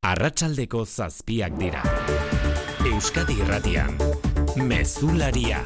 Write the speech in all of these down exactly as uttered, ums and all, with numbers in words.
Arratsaldeko zazpiak dira. Euskadi Irratian, Mezularia.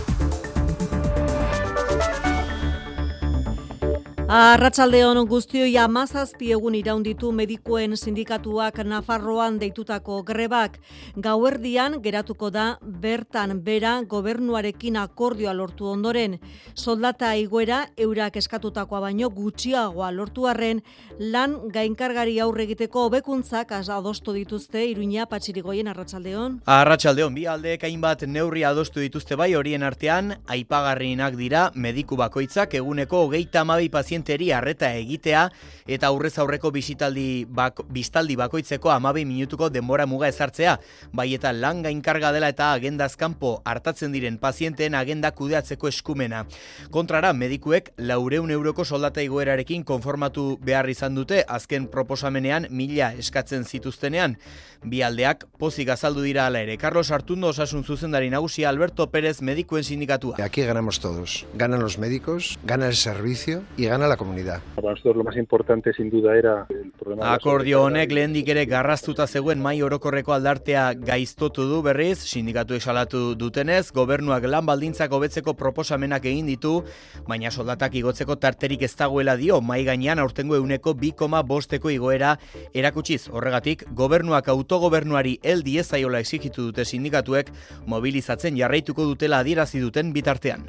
Arratsaldeon guztioi hamazazpi egun iraunditu medikuen sindikatuak Nafarroan deitutako grebak. Gauerdian geratuko da bertan bera gobernuarekin akordioa lortu ondoren. Soldata igoera eurak eskatutakoa baino gutxiagoa lortu arren, lan gainkargari aurre egiteko hobekuntzak adostu dituzte Iruña Patxirigoien. Arratsaldeon. Arratsaldeon, bi aldeek hainbat neurri adostu dituzte bai, horien artean aipagarrienak dira mediku bakoitzak eguneko hogeita hamabi paziente arreta egitea eta aurrez aurreko bisitaldi bak, bistaldi bakoitzeko hamabi minutuko denbora muga ezartzea, bai eta lan gainkarga dela eta agendaz kanpo hartatzen diren pazienteen agenda kudeatzeko eskumena. Kontrara, medikuek laurehun euroko soldata igoerarekin konformatu behar izan dute azken proposamenean mila eskatzen zituztenean. Bi aldeak pozik azaldu dira hala ere. Carlos Artundo, osasun zuzendari nagusia, Alberto Pérez, medikuen sindikatua. Aquí ganamos todos. Ganan los médicos, gana el servicio y gana la comunidad. Para nosotros lo más importante sin duda era el problema. Akordio honek lehendik ere garraztuta zegoen mahai orokorreko aldartea gaiztotu du berriz, sindikatuek salatu dutenez, gobernuak lan baldintzak hobetzeko proposamenak egin ditu, baina soldatak igotzeko tarterik ez dagoela dio, mahai gainean aurtengo ehuneko bi koma bosteko igoera erakutsiz. Horregatik, gobernuak autogobernuari hel diezaiola exigitu dute sindikatuek, mobilizatzen jarraituko dutela adierazi duten bitartean.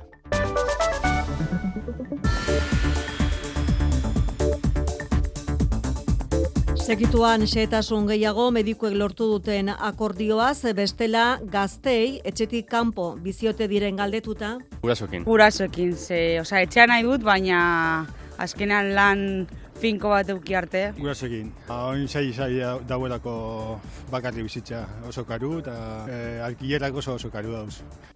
Segituan xehetasun gehiago medikuek lortu duten akordioaz, bestela gaztei etxetik kanpo biziote diren galdetuta. Gurasoekin. Gurasoekin, ze, osea, etxean nahi dut, baina azkenan lan finko bat euki arte. Gurasoekin. Oin sai sai dauelako bakarri bizitza oso karu eta e, alkilerak oso oso karu dauz.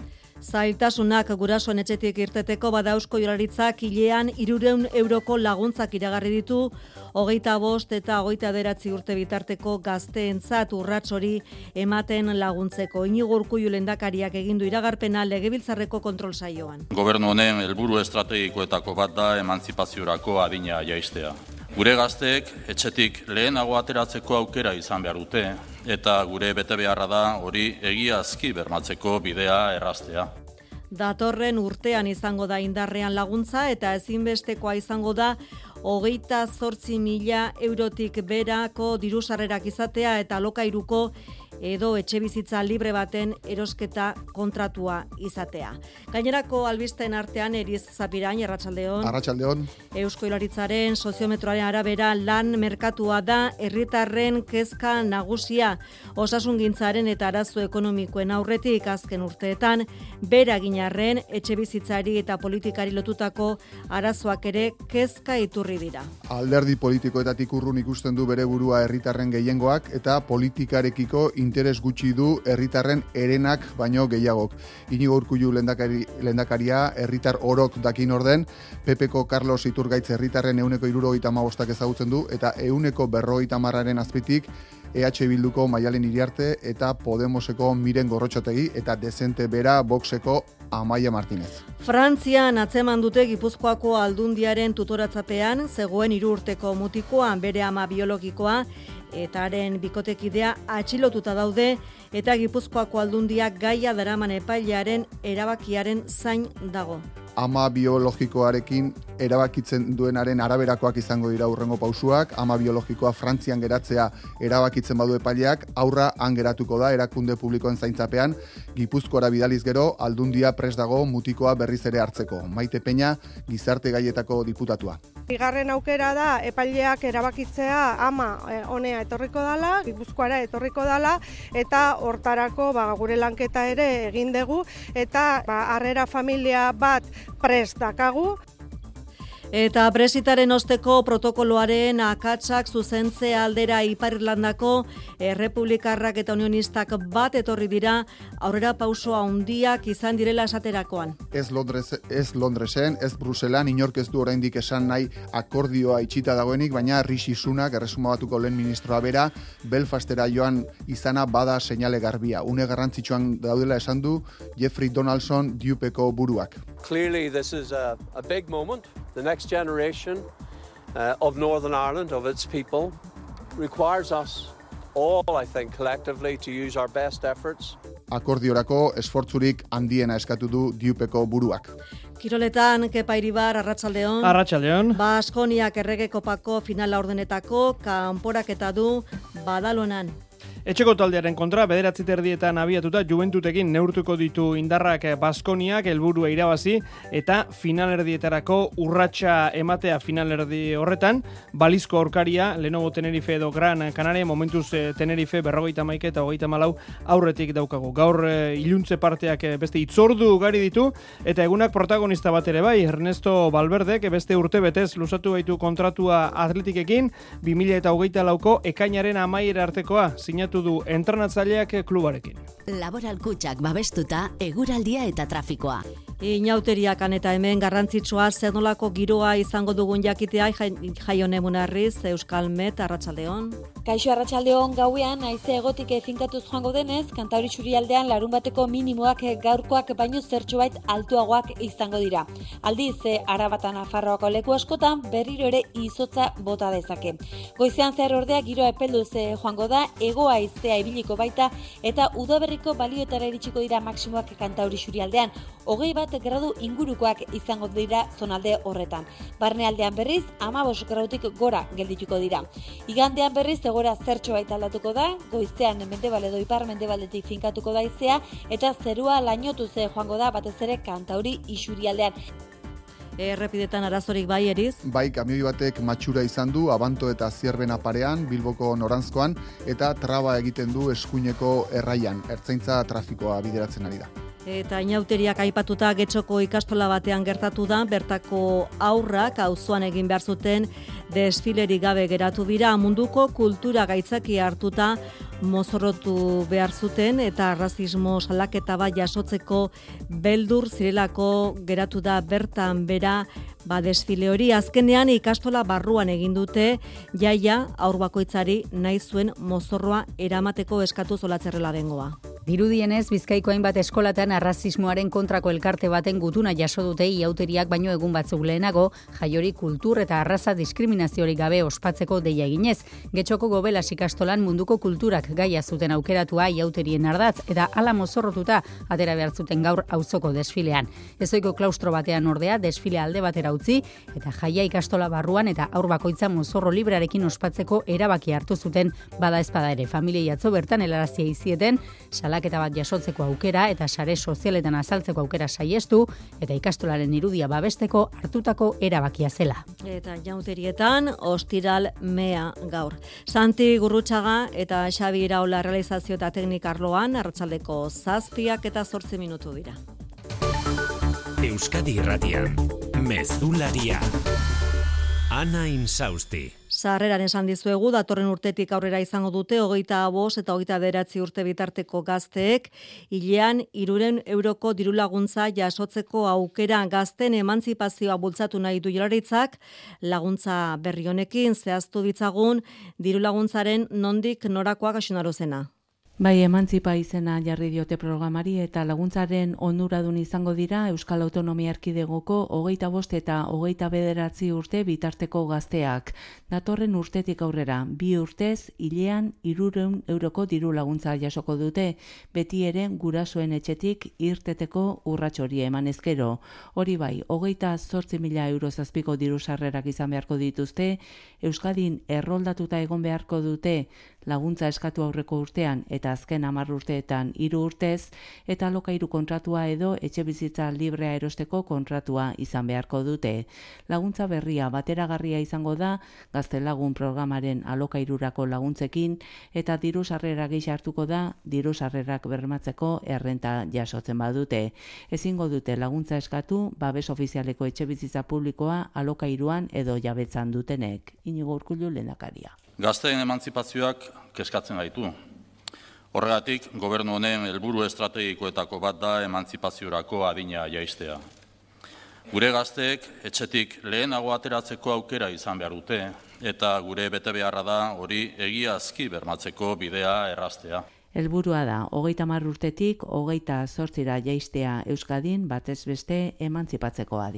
Zailtasunak gurasoen etxetik irteteko bada Eusko Jaurlaritzak hilean hirurehun euroko laguntzak iragarri ditu, hogeita bost eta hogeita bederatzi urte bitarteko gazteentzat urrats hori ematen laguntzeko. Inigo Urkullu lehendakariak egin du iragarpena Legebiltzarreko kontrol saioan. Gobernu honen helburu estrategikoetako bat da emantzipaziorako adina jaistea. Gure gazteek etxetik lehenago ateratzeko aukera izan behar dute, eta gure betebeharra da hori egiazki bermatzeko bidea erraztea. Datorren urtean izango da indarrean laguntza eta ezinbestekoa izango da hogeita zortzi mila eurotik berako dirusarrerak izatea eta alokairuko edo etxebizitza libre baten erosketa kontratua izatea. Gainerako albisten artean Eriz Zapirain, Arratsaldeon. Arratsaldeon. Eusko Jaurlaritzaren soziometroaren arabera lan merkatua da herritarren kezka nagusia. Osasungintzaren eta arazo ekonomikoen aurretik azken urteetan bera ginarren etxebizitzari eta politikari lotutako arazoak ere kezka iturri dira. Alderdi politikoetatik urrun ikusten du bere burua herritarren gehiengoak eta politikarekiko interes gutxi du herritarren herenak baino gehiagok. Inigo Urkullu lehendakari, lehendakaria herritar orok dakin orden, P Pko Carlos Iturgaitz herritarren ehuneko hirurogeita hamabostak ezagutzen du eta ehuneko berrogeita hamararen azpitik E H Bilduko Maialen Iriarte eta Podemoseko Miren Gorrotxategi eta dezente bera Voxeko Amaia Martinez. Frantzian atzeman dute Gipuzkoako Aldundiaren tutoratzapean zegoen hiru urteko mutikoa, bere ama biologikoa eta haren bikotekidea atxilotuta daude eta Gipuzkoako Aldundiak gaia daraman epailearen erabakiaren zain dago. Ama biologikoarekin erabakitzen duenaren araberakoak izango dira hurrengo pausuak. Ama biologikoa Frantzian geratzea erabakitzen badu epaileak, aurra han geratuko da erakunde publikoen zaintzapean. Gipuzkoara bidaliz gero, Aldundia prest dago mutikoa berriz ere hartzeko. Maite Peña, gizarte gaietako diputatua. Bigarren aukera da epaileak erabakitzea ama honea etorriko dala, Gipuzkoara etorriko dala eta hortarako ba, gure lanketa ere egin dugu eta ba, harrera familia bat prest dakagu. Eta Brexitaren osteko protokoloaren akatsak zuzentze aldera Ipar Irlandako errepublikarrak eta unionistak bat etorri dira aurrera pauso handiak izan direla esaterakoan. Ez Londres, ez Londresen, ez Bruselan, inork ez du oraindik esan nahi akordioa itxita dagoenik, baina Rishi Sunak, erresuma batuko lehen ministroa bera, Belfastera joan izana bada seinale garbia. Une garrantzitsuan daudela esan du Jeffrey Donaldson Dupeko buruak. Clearly this is a, a big moment. The next generation uh, of Northern Ireland, of its people, requires us all, I think, collectively to use our best efforts. Akordiorako esfortzurik handiena eskatu du Diupeko buruak. Kiroletan, Kepa Iribar, Arratsaldeon. Arratsaldeon. Baskoniak errege kopako finala ordenetako kanporaketa du Badalonan. Etxeko taldearen kontra bederatzi terdietan abiatuta Juventutekin neurtuko ditu indarrak Baskoniak helburua irabazi eta finalerdietarako urratsa ematea finalerdi horretan. Balizko aurkaria Lenovo Tenerife edo Gran Canaria, momentuz Tenerife berrogeita hamaika eta hogeita hamalau aurretik daukagu. Gaur iluntze parteak beste itzordu ugari ditu eta egunak protagonista bat ere bai. Ernesto Valverdek beste urte betez luzatu baitu kontratua Atletikekin bi mila hogeita lauko ekainaren amaiera artekoa sinatu du entrenatzaileak klubarekin. Laboral Kutxak babestuta eguraldia eta trafikoa. Inauteriakan eta hemen garrantzitsua zer nolako giroa izango dugun jakitea Jaione Munarriz, Euskal Met, Arratsaldeon. Kaixo Arratsaldeon, gauean haize egotik finkatuz joango denez, Kantauri Isurialdean larun bateko minimoak gaurkoak baino zertxobait altuagoak izango dira. Aldiz, Arabata Nafarroako leku askotan berriro ere izotza bota dezake. Goizean zer ordea giro epelduz joango da, hego haizea ibiliko baita eta udaberriko balioetara iritsiko dira maksimoak Kantauri Isurialdean. Hogei bat gradu ingurukoak izango dira zonalde horretan. Barnealdean berriz, hamabost gradutik gora geldituko dira. Igandean berriz, egora zertxo baita aldatuko da, goizean mendebal edo ipar mendebaldetik finkatuko da haizea, eta zerua lainotuz joango da batez ere Kantauri Isurialdean. Errepidetan arazorik bai, Eriz? Bai, kamioi batek matxura izan du, Abanto eta Zierbena parean, Bilboko noranzkoan, eta traba egiten du eskuineko erraian, ertzaintza trafikoa bideratzen ari da. Eta inauteriak aipatuta Getxoko ikastola batean gertatu da, bertako aurrak auzoan egin behar zuten desfilerik gabe geratu dira, munduko kultura gaitzaki hartuta mozorrotu behar zuten eta arrazismo salaketa bat jasotzeko beldur zirelako geratu da bertan bera ba desfile hori. Azkenean ikastola barruan egin dute jaia aur bakoitzari nahi zuen mozorroa eramateko eskatu zolatzerrela bengoa. Dirudienez, Bizkaiko hainbat eskolatan arrazismoaren kontrako elkarte baten gutuna jaso dute iauteriak baino egun batzuk lehenago, jaiori kultur eta arraza diskriminaziorik gabe ospatzeko deia eginez. Getxoko Gobelas ikastolan munduko kulturak gaia zuten aukeratua iauterien ardatz eta hala mozorrotuta atera behar zuten gaur auzoko desfilean. Ezoiko klaustro batean ordea desfile alde batera utzi eta jaia ikastola barruan eta aur bakoitza mozorro librearekin ospatzeko erabaki hartu zuten bada ezpada ere. Familiei atzo bertan helarazia izieten, salaketa bat jasotzeko aukera eta sare sozialetan azaltzeko aukera saiestu eta ikastolaren irudia babesteko hartutako erabakia zela. Eta jauterietan ostiral mea gaur. Santi Gurrutxaga eta Xabi Iraola realizazio eta teknik arloan arratsaldeko zazpiak eta zortzi minutu dira. Euskadi Irratian, Mezularia. Ana Insausti. Sarreran esan dizuegu, datorren urtetik aurrera izango dute, hogeita bost eta hogeita bederatzi urte bitarteko gazteek, hilean hirurehun euroko dirulaguntza jasotzeko aukera gazten emantzipazioa bultzatu nahi du Jaurlaritzak, laguntza berri honekin zehaztu ditzagun dirulaguntzaren nondik norakoak asunarozena. Bai, emantzipa izena jarri diote programari eta laguntzaren onuradun izango dira Euskal Autonomia Erkidegoko hogeita bost eta hogeita bederatzi urte bitarteko gazteak. Datorren urtetik aurrera, bi urtez, hilean hirurehun euroko diru laguntza jasoko dute, beti ere gurasoen etxetik irteteko urrats hori eman ezkero. Hori bai, hogeita zortzi mila euro zazpiko diru sarrerak izan beharko dituzte, Euskadin erroldatuta egon beharko dute laguntza eskatu aurreko urtean eta azken hamar urteetan hiru urtez, eta alokairu kontratua edo etxebizitza librea erosteko kontratua izan beharko dute. Laguntza berria bateragarria izango da Gaztelagun programaren alokairurako laguntzekin eta diru sarrera gisa hartuko da diru sarrerak bermatzeko errenta jasotzen badute. Ezingo dute laguntza eskatu babes ofizialeko etxebizitza publikoa alokairuan edo jabetzan dutenek. Inigo Urkullu lehendakaria. Gazteen emantzipazioak kezkatzen gaitu. Horregatik, gobernu honen helburu estrategikoetako bat da emantzipaziorako adina jaistea. Gure gazteek etxetik lehenago ateratzeko aukera izan behar dute, eta gure betebeharra da hori egiazki bermatzeko bidea erraztea. Helburua da, hogeita hamar urtetik, hogeita zortzira jaistea Euskadin batez beste emantzipatzeko adina.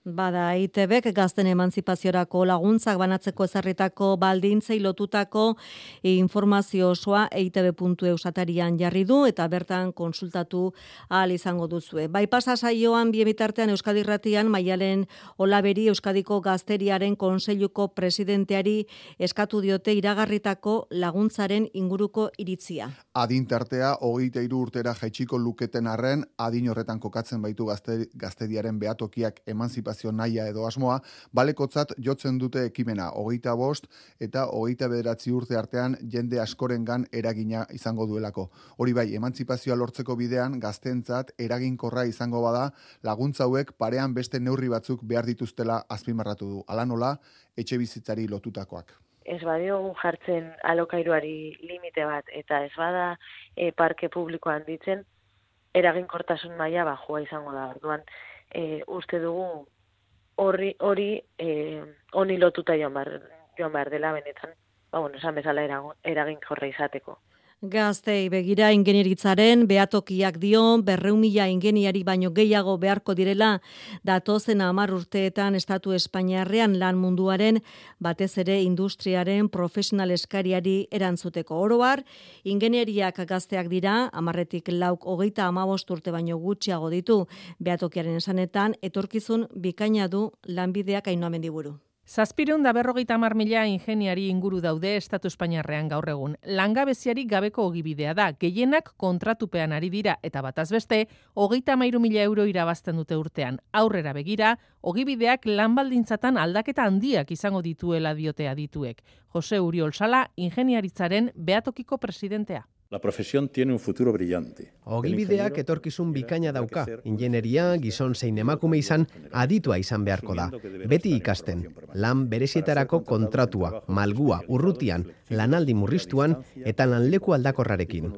Bada, E I T Bek gazten emantzipaziorako laguntzak banatzeko ezarritako baldintzei lotutako informazio osoa E I T B puntu E U satarian jarri du eta bertan konsultatu ahal izango duzue. Bai pasa saioan bi bitartean Euskadi Irratian Maialen Olaberi Euskadiko Gazteriaren Kontseiluko presidenteari eskatu diote iragarritako laguntzaren inguruko iritzia. Adin tartea hogeita hiru urtera jaitsiko luketen arren, adin horretan kokatzen baitu gazte, gaztediaren behatokiak emantzipazio naia edo asmoa, balekotzat jotzen dute ekimena hogeita bost eta hogeita bederatzi urte artean jende askorengan eragina izango duelako. Hori bai, emantzipazioa lortzeko bidean gazteentzat eraginkorra izango bada, laguntza hauek parean beste neurri batzuk behar dituztela azpimarratu du. Hala nola, etxe bizitzari lotutakoak. Ez badiogu jartzen alokairuari limite bat eta ez bada e, parke publikoan ditzen, eraginkortasun maila bajua izango da. Orduan, e, uste dugu hori hori eh honi lotuta joan behar, joan behar dela benetan, ba bueno, esan bezala eraginkorra izateko. Gaztei begira ingenieritzaren behatokiak dio berrehun mila ingeniari baino gehiago beharko direla datozen hamar urteetan estatu Espainiarrean lan munduaren batez ere industriaren profesional eskariari erantzuteko. Oro har, ingenieriak gazteak dira, hamarretik lauk hogeita hamabost urte baino gutxiago ditu behatokiaren esanetan, etorkizun bikaina du lanbideak Ainhoa Mendiburu. Zazpireun da berrogeita hamar mila ingeniari inguru daude Estatu Espainiarrean gaur egun. Langabeziari gabeko ogibidea da, gehienak kontratupean ari dira eta bataz beste, hogeita hamairu mila euro irabazten dute urtean. Aurrera begira, ogibideak lanbaldintzatan aldaketa handiak izango dituela diote adituek. Jose Uriol Sala, ingeniaritzaren behatokiko presidentea. La profesión tiene un futuro brillante. Ogibideak etorkizun bikaina dauka. Ingenieria, gizon zein emakume izan, aditua izan beharko da. Beti ikasten, lan berezietarako kontratua, malgua, urrutian, lanaldi murriztuan eta lanleku aldakorrarekin.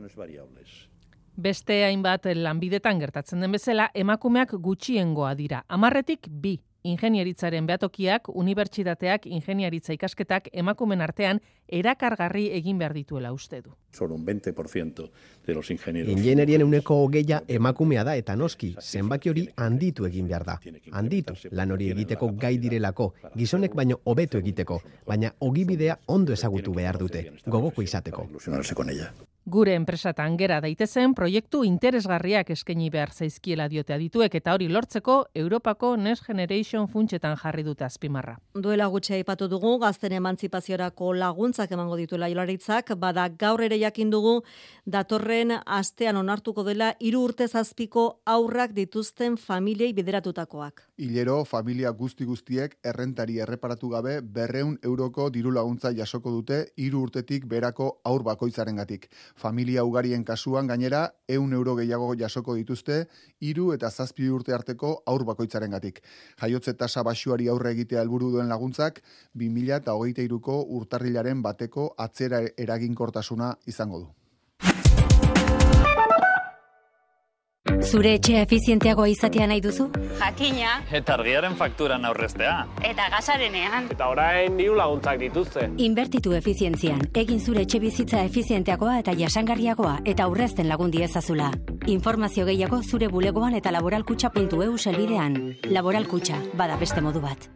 Beste hainbat lanbidetan gertatzen den bezala, emakumeak gutxiengoa dira. Hamarretik bi. Ingenieritzaren behatokiak, unibertsitateak, ingeniaritza ikasketak emakumen artean erakargarri egin behar dituela uste du. Solo un veinte por ciento de los ingenieros. Ingenierien uneko hogeia emakumea da eta noski, zenbaki hori handitu egin behar da. Handitu, lan hori egiteko gai direlako, gizonek baino hobeto egiteko, baina ogibidea ondo ezagutu behar dute, gogoko izateko. Gure enpresatan gera daitezen proiektu interesgarriak eskaini behar zaizkiela diote adituek eta hori lortzeko Europako Next Generation funtsetan jarri dute azpimarra. Duela gutxi aipatu dugu gazten emantzipaziorako laguntzak emango dituela Jaurlaritzak, bada gaur ere jakin dugu datorren astean onartuko dela hiru urte zazpiko haurrak dituzten familiei bideratutakoak. Hilero familia guzti guztiek errentari erreparatu gabe berrehun euroko diru laguntza jasoko dute hiru urtetik berako haur bakoitzarengatik. Familia ugarien kasuan gainera ehun euro gehiago jasoko dituzte hiru eta zazpi urte arteko haur bakoitzarengatik. Jaiotze tasa baxuari aurre egitea helburu duen laguntzak bi mila hogeita hiruko urtarrilaren bateko atzera eraginkortasuna izango du. Zure etxea efizienteagoa izatea nahi duzu? Jakina. Eta argiaren fakturan aurreztea. Eta gasarenean. Eta orain diru laguntzak dituzte. Inbertitu efizientzian. Egin zure etxe bizitza efizienteagoa eta jasangarriagoa eta aurrezten lagundi ezazula. Informazio gehiago zure bulegoan eta laboralkutxa puntu e u selbidean. Laboralkutxa, bada beste modu bat.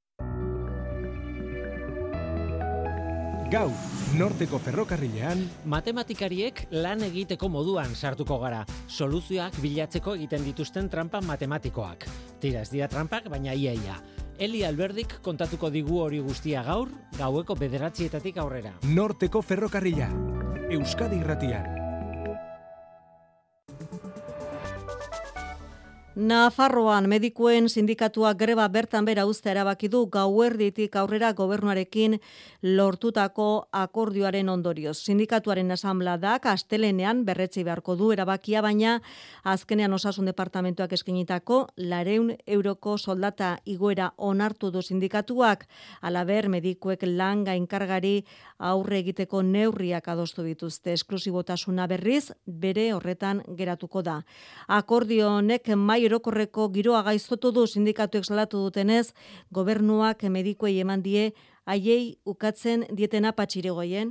Gaur, Norteko ferrokarrilean, matematikariek lan egiteko moduan sartuko gara, soluzioak bilatzeko egiten dituzten trampa matematikoak. Tira, ez dira trampak, baina iaia. Eli Alberdik kontatuko digu hori guztia gaur, gaueko bederatzietatik aurrera. Norteko ferrokarrila, Euskadi Irratian. Nafarroan medikuen sindikatua greba bertan bera uztea erabaki du gauerditik aurrera gobernuarekin lortutako akordioaren ondorioz. Sindikatuaren asanbladak astelenean berretsi beharko du erabakia, baina azkenean osasun departamentuak eskainitako laurehun euroko soldata igoera onartu du sindikatuak. Halaber, medikuek lan gainkargari aurre egiteko neurriak adostu dituzte. Esklusibotasuna berriz bere horretan geratuko da. Akordio honek mai erokorreko giroa gaiztotu du sindikatuek salatu dutenez, gobernuak medikuei eman die haiei ukatzen dietena Patxiregoien.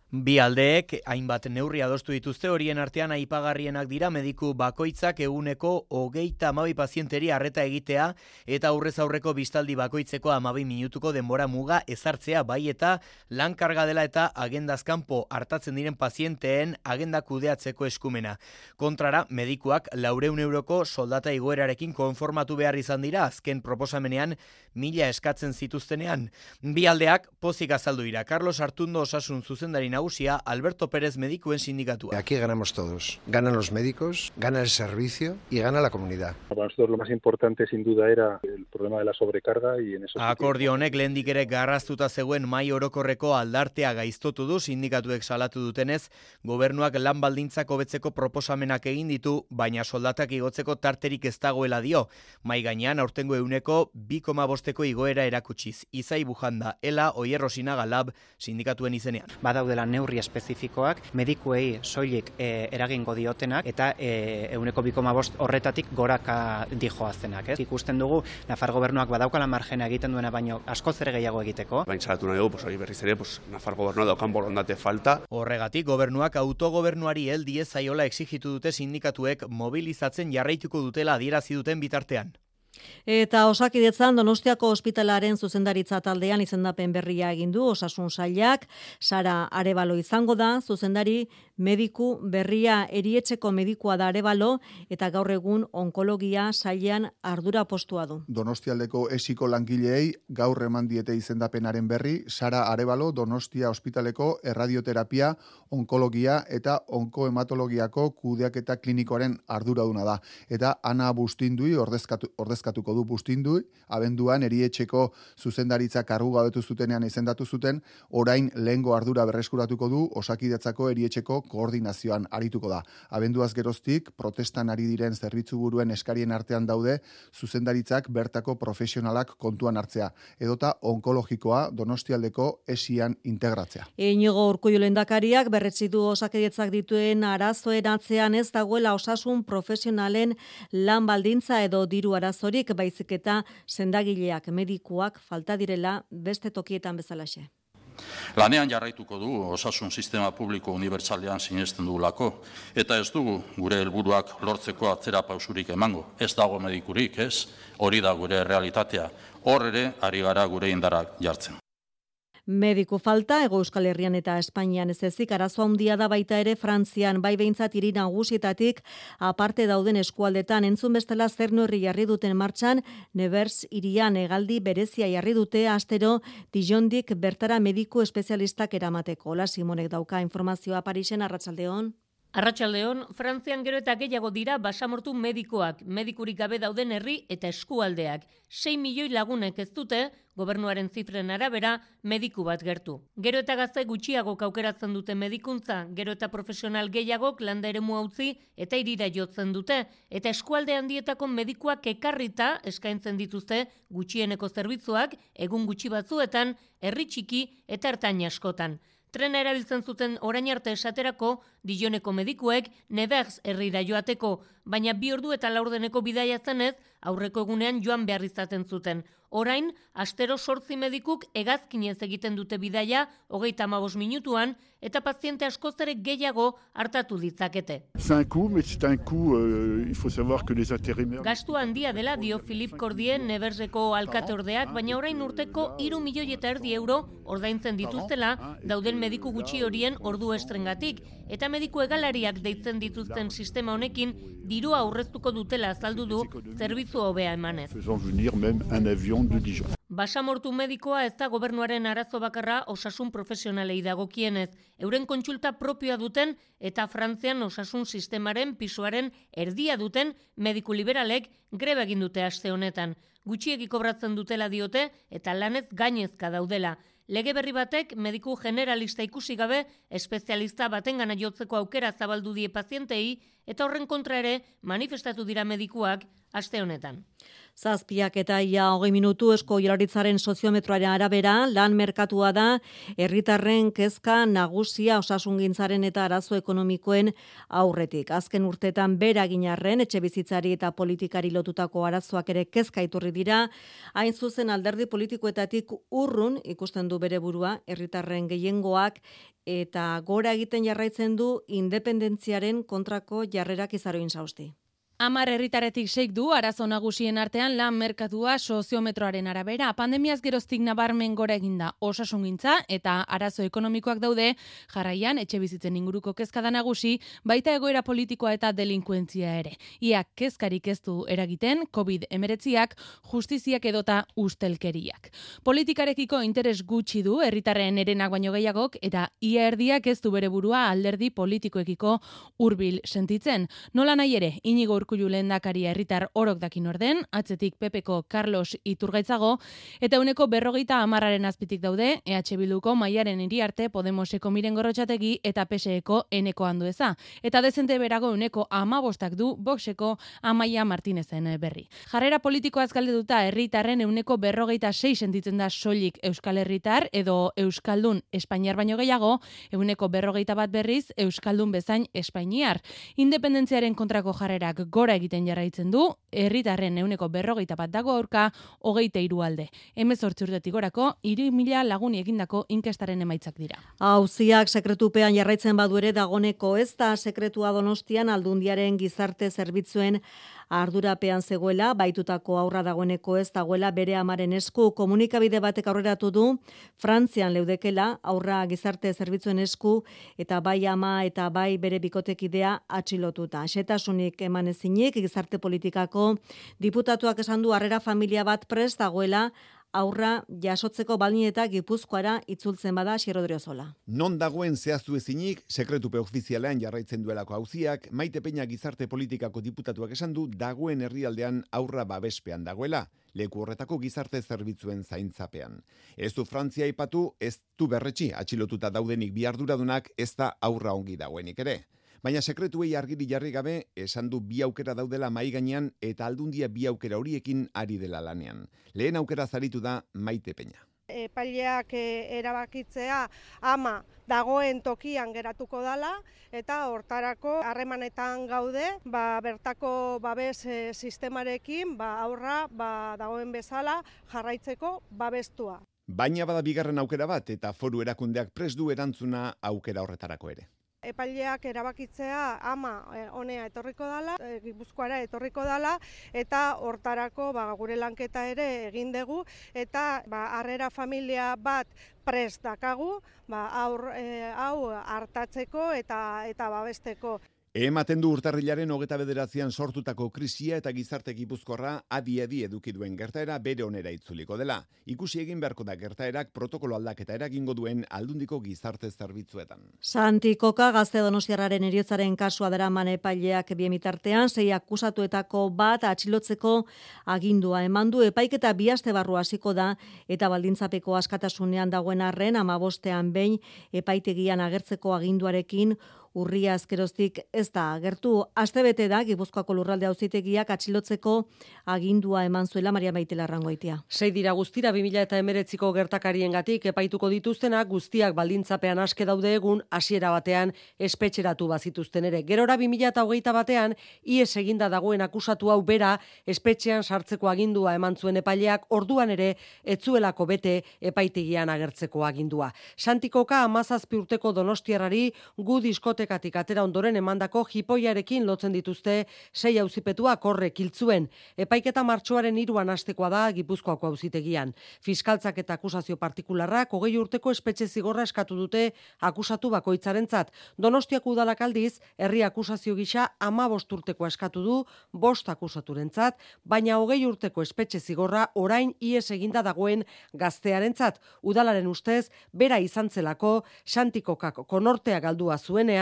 Bi aldeek hainbat neurri adostu dituzte, horien artean aipagarrienak dira mediku bakoitzak eguneko hogeita hamabi pazienteri arreta egitea eta aurrez aurreko bistaldi bakoitzeko hamabi minutuko denbora muga ezartzea, bai eta lan karga dela eta agendazkanpo hartatzen diren pazienteen agenda kudeatzeko eskumena. Kontrara, medikuak laureun euroko soldata igoerarekin konformatu behar izan dira azken proposamenean mila eskatzen zituztenean. Bi aldeak pozik azaldu dira. Carlos Artundo osasun zuzendari nagusia, Alberto Pérez medikuen sindikatua. Aquí ganamos todos. Ganan los médicos, gana el servicio y gana la comunidad. Para nosotros lo más importante sin duda era el problema de la sobrecarga y en eso. Akordio honek lehendik ere garraztuta zegoen mahai orokorreko aldartea gaiztotu du, sindikatuek salatu dutenez, gobernuak lan baldintzak hobetzeko proposamenak egin ditu, baina soldatak igotzeko tarterik ez dagoela dio. Mai gainean aurtengo euneko bi koma bosteko igoera erakutsiz. Izai Bujanda, Ela Oierrosina Galab sindikatuen izenean. Badaudela neurri espezifikoak, medikuei soilik e, eragingo diotenak eta e, euneko bi koma bost horretatik goraka dijoaztenak. Ez? Ikusten dugu, Nafar gobernuak badaukala margena egiten duena baino askoz ere gehiago egiteko. Baina salatu nahi dugu, pues, hori berriz ere, pues, Nafar gobernua daukan borondate falta. Horregatik gobernuak autogobernuari heldi ez zaiola exigitu dute sindikatuek mobilizatzen jarraituko dutela adierazi duten bitartean. Eta Osakidetzan Donostiako ospitalaren zuzendaritza taldean izendapen berria egin du Osasun Sailak, Sara Arebalo izango da, zuzendari mediku berria erietxeko medikua da Arebalo eta gaur egun onkologia sailean ardura postua du. Donostialdeko esiko langileei gaur eman diete izendapenaren berri, Sara Arebalo Donostia ospitaleko erradioterapia, onkologia eta onkohematologiako kudeaketa klinikoaren arduraduna da. Eta Ana Bustindui ordezkatu, ordezkatuko du Bustindui, abenduan erietxeko zuzendaritza kargu gabetu zutenean izendatu zuten, orain lehengo ardura berreskuratuko du Osakidetzako erietxeko koordinazioan arituko da. Abenduaz geroztik, protestan ari diren zerbitzu buruen eskarien artean daude zuzendaritzak bertako profesionalak kontuan hartzea, edota onkologikoa Donostialdeko esian integratzea. Inigo Urkullu lehendakariak berretsi du Osakidetzak dituen arazoen atzean ez dagoela osasun profesionalen lan baldintza edo diru arazorik, baizik eta sendagileak, medikuak falta direla beste tokietan bezalaxe. Lanean jarraituko du osasun sistema publiko unibertsalean sinesten dugulako, eta ez dugu gure helburuak lortzeko atzera pausurik emango. Ez dago medikurik, ez? Hori da gure realitatea. Hor ere ari gara gure indarrak jartzen. Mediku falta, Hego Euskal Herrian eta Espainian ez ezik, arazoa handia da baita ere Frantzian, bai behintzat hiri nagusietatik aparte dauden eskualdetan, entzun bestela zer neurri jarri duten martxan, Nevers hirian hegaldi berezia jarri dute astero Dijondik bertara mediku espezialistak eramateko. Ola Simonek dauka informazioa Parisen. Arratsaldeon. Arratsaldeon, Frantzian gero eta gehiago dira basamortu medikoak, medikurik gabe dauden herri eta eskualdeak. sei milioi lagunek ez dute, gobernuaren zifren arabera, mediku bat gertu. Gero eta gazte gutxiago aukeratzen dute medikuntza, gero eta profesional gehiagok landa eremua utzi eta hirira jotzen dute, eta eskualde handietako medikuak ekarrita eskaintzen dituzte gutxieneko zerbitzuak, egun gutxi batzuetan, herri txiki eta ertain askotan. Trena erabiltzen zuten orain arte esaterako Dijoneko medikuek Nevers herrira joateko, baina bi ordu eta laurdeneko bidaia zenez aurreko egunean joan behar izaten zuten. Orain, astero sortzi medikuk hegazkinez egiten dute bidaia hogeita hamabost minutuan eta paziente askoz ere gehiago hartatu ditzakete. Gastu handia dela dio Philippe Cordier Neverseko alkateordeak, baina orain urteko hiru milioi eta erdi euro ordaintzen dituztela dauden mediku gutxi horien ordu estrengatik, eta mediku egalariak deitzen dituzten sistema honekin dirua aurreztuko dutela azaldu du zerbitzu hobea emanez. Basamortu medikoa ez da gobernuaren arazo bakarra osasun profesionalei dagokienez. Euren kontsulta propioa duten eta Frantzian osasun sistemaren pisuaren erdia duten mediku liberalek greba egin dute aste honetan. Gutxiegi kobratzen dutela diote eta lanez gainezka daudela. Lege berri batek mediku generalista ikusi gabe espezialista batengana jotzeko aukera zabaldu die pazientei eta horren kontra ere manifestatu dira medikuak aste honetan. Zazpiak eta ia hogei minutu Eusko Jaurlaritzaren soziometroaren arabera, lan merkatua da herritarren kezka nagusia osasungintzaren eta arazo ekonomikoen aurretik. Azken urteetan bera ginarren etxe bizitzari eta politikari lotutako arazoak ere kezka iturri dira, hain zuzen alderdi politikoetatik urrun ikusten du bere burua herritarren gehiengoak eta gora egiten jarraitzen du independentziaren kontrako jarrerak Izaroin Sausti. Hamar herritaretik seik du arazo nagusien artean lan merkatua soziometroaren arabera. Pandemiaz geroztik nabarmen gora eginda osasungintza eta arazo ekonomikoak daude, jarraian etxe bizitzen inguruko kezka da nagusi, baita egoera politikoa eta delinkuentzia ere. Ia kezkarik ez du eragiten covid hemeretziak, justiziak edota ustelkeriak. Politikarekiko interes gutxi du herritarren herenak baino gehiagok eta ia erdiak ez du bere burua alderdi politikoekiko hurbil sentitzen. Nola nahi ere, Inigo Urkullu lehendakaria herritar orok dakin orden, atzetik Pepeko Carlos Iturgaitzago, eta uneko berrogeita hamarraren azpitik daude, E H Bilduko Maiaren Iriarte, Podemoseko Miren Gorrotxategi eta P S Eko Eneko Andueza. Eta dezente berago uneko amabostak du Voxeko Amaia Martinezen berri. Jarrera politikoaz galdetuta herritarren euneko berrogeita sei sentitzen da soilik Euskal Herritar edo Euskaldun Espainiar baino gehiago, euneko berrogeita bat berriz Euskaldun bezain Espainiar. Independentziaren kontrako jarrerak gora egiten jarraitzen du, herritarren euneko berrogeita bat dago aurka, hogeita hiru alde. Hemezortzi urtetik gorako, hiru mila laguni egindako inkestaren emaitzak dira. Auziak sekretupean jarraitzen badu ere dagoneko ez da sekretua Donostian Aldundiaren gizarte zerbitzuen ardurapean zegoela, baitutako aurra dagoeneko ez dagoela bere amaren esku. Komunikabide batek aurreratu du, Frantzian leudekela aurra gizarte zerbitzuen esku eta bai ama eta bai bere bikotekidea atxilotuta. Xetasunik eman ezinik gizarte politikako diputatuak esan du harrera familia bat prest dagoela aurra jasotzeko balin eta Gipuzkoara itzultzen bada Xerrodrio Zola. Non dagoen zehaztu ezinik, sekretupe ofizialean jarraitzen duelako auziak, Maite Peña gizarte politikako diputatuak esan du dagoen herrialdean aurra babespean dagoela, leku horretako gizarte zerbitzuen zaintzapean. Ez du Frantzia aipatu, ez du berretxi atxilotuta daudenik bi arduradunak, ez da aurra ongi dagoenik ere. Baina sekretuei argiri jarri gabe, esan du bi aukera daudela mahai gainean eta Aldundia bi aukera horiekin ari dela lanean. Lehen aukera zaritu da Maite Peña. Epaileak erabakitzea ama dagoen tokian geratuko dala eta hortarako harremanetan gaude, ba, bertako babes e, sistemarekin ba, aurra ba, dagoen bezala jarraitzeko babestua. Baina bada bigarren aukera bat eta foru erakundeak prest du erantzuna aukera horretarako ere. Epaileak erabakitzea ama honea etorriko dala, Gipuzkoara etorriko dala eta hortarako ba, gure lanketa ere egin dugu eta ba, harrera familia bat prest dakagu ba, aur, e, hau hartatzeko eta, eta babesteko. Ematen du urtarrilaren hogeta bederatzean sortutako krisia eta gizarte gipuzkorra adi-adi eduki duen gertaera bere onera itzuliko dela. Ikusi egin beharko da gertaerak protokolo aldaketa eragingo duen Aldundiko gizarte zerbitzuetan. Santi Koka gazte donostiarraren heriotzaren kasua daraman epaileak biemitartean, sei akusatuetako bat atxilotzeko agindua eman du. Epaiketa bi aste barru hasiko da eta baldintzapeko askatasunean dagoen arren amabostean behin epaitegian agertzeko aginduarekin urria azkeroztik ez da agertu. Astebete da Gipuzkoako lurralde auzitegiak atxilotzeko agindua eman zuela Maria Maite Larrangoitia. Sei dira guztira bi mila hemeretziko gertakariengatik epaituko dituztenak guztiak baldintzapean aske daude egun hasiera batean espetxeratu bazituzten ere. Gerora bi mila hogeita batean ihes eginda dagoen akusatu hau bera espetxean sartzeko agindua eman zuen epaileak orduan ere etzuelako bete epaitegian agertzeko agindua. Santi Koka hamazazpi urteko donostiarrari gu diskotekatik atera ondoren emandako jipoiarekin lotzen dituzte sei auzipetuak horrek hiltzuen. Epaiketa martxoaren hiruan hastekoa da Gipuzkoako auzitegian. Fiskaltzak eta akusazio partikularrak hogei urteko espetxe zigorra eskatu dute akusatu bakoitzarentzat. Donostiako udalak aldiz herri akusazio gisa hamabost urteko eskatu du bost akusaturentzat, baina hogei urteko espetxe zigorra orain ihes eginda dagoen gaztearentzat. Udalaren ustez bera izan zelako Santi Kokak konortea galdua zuenean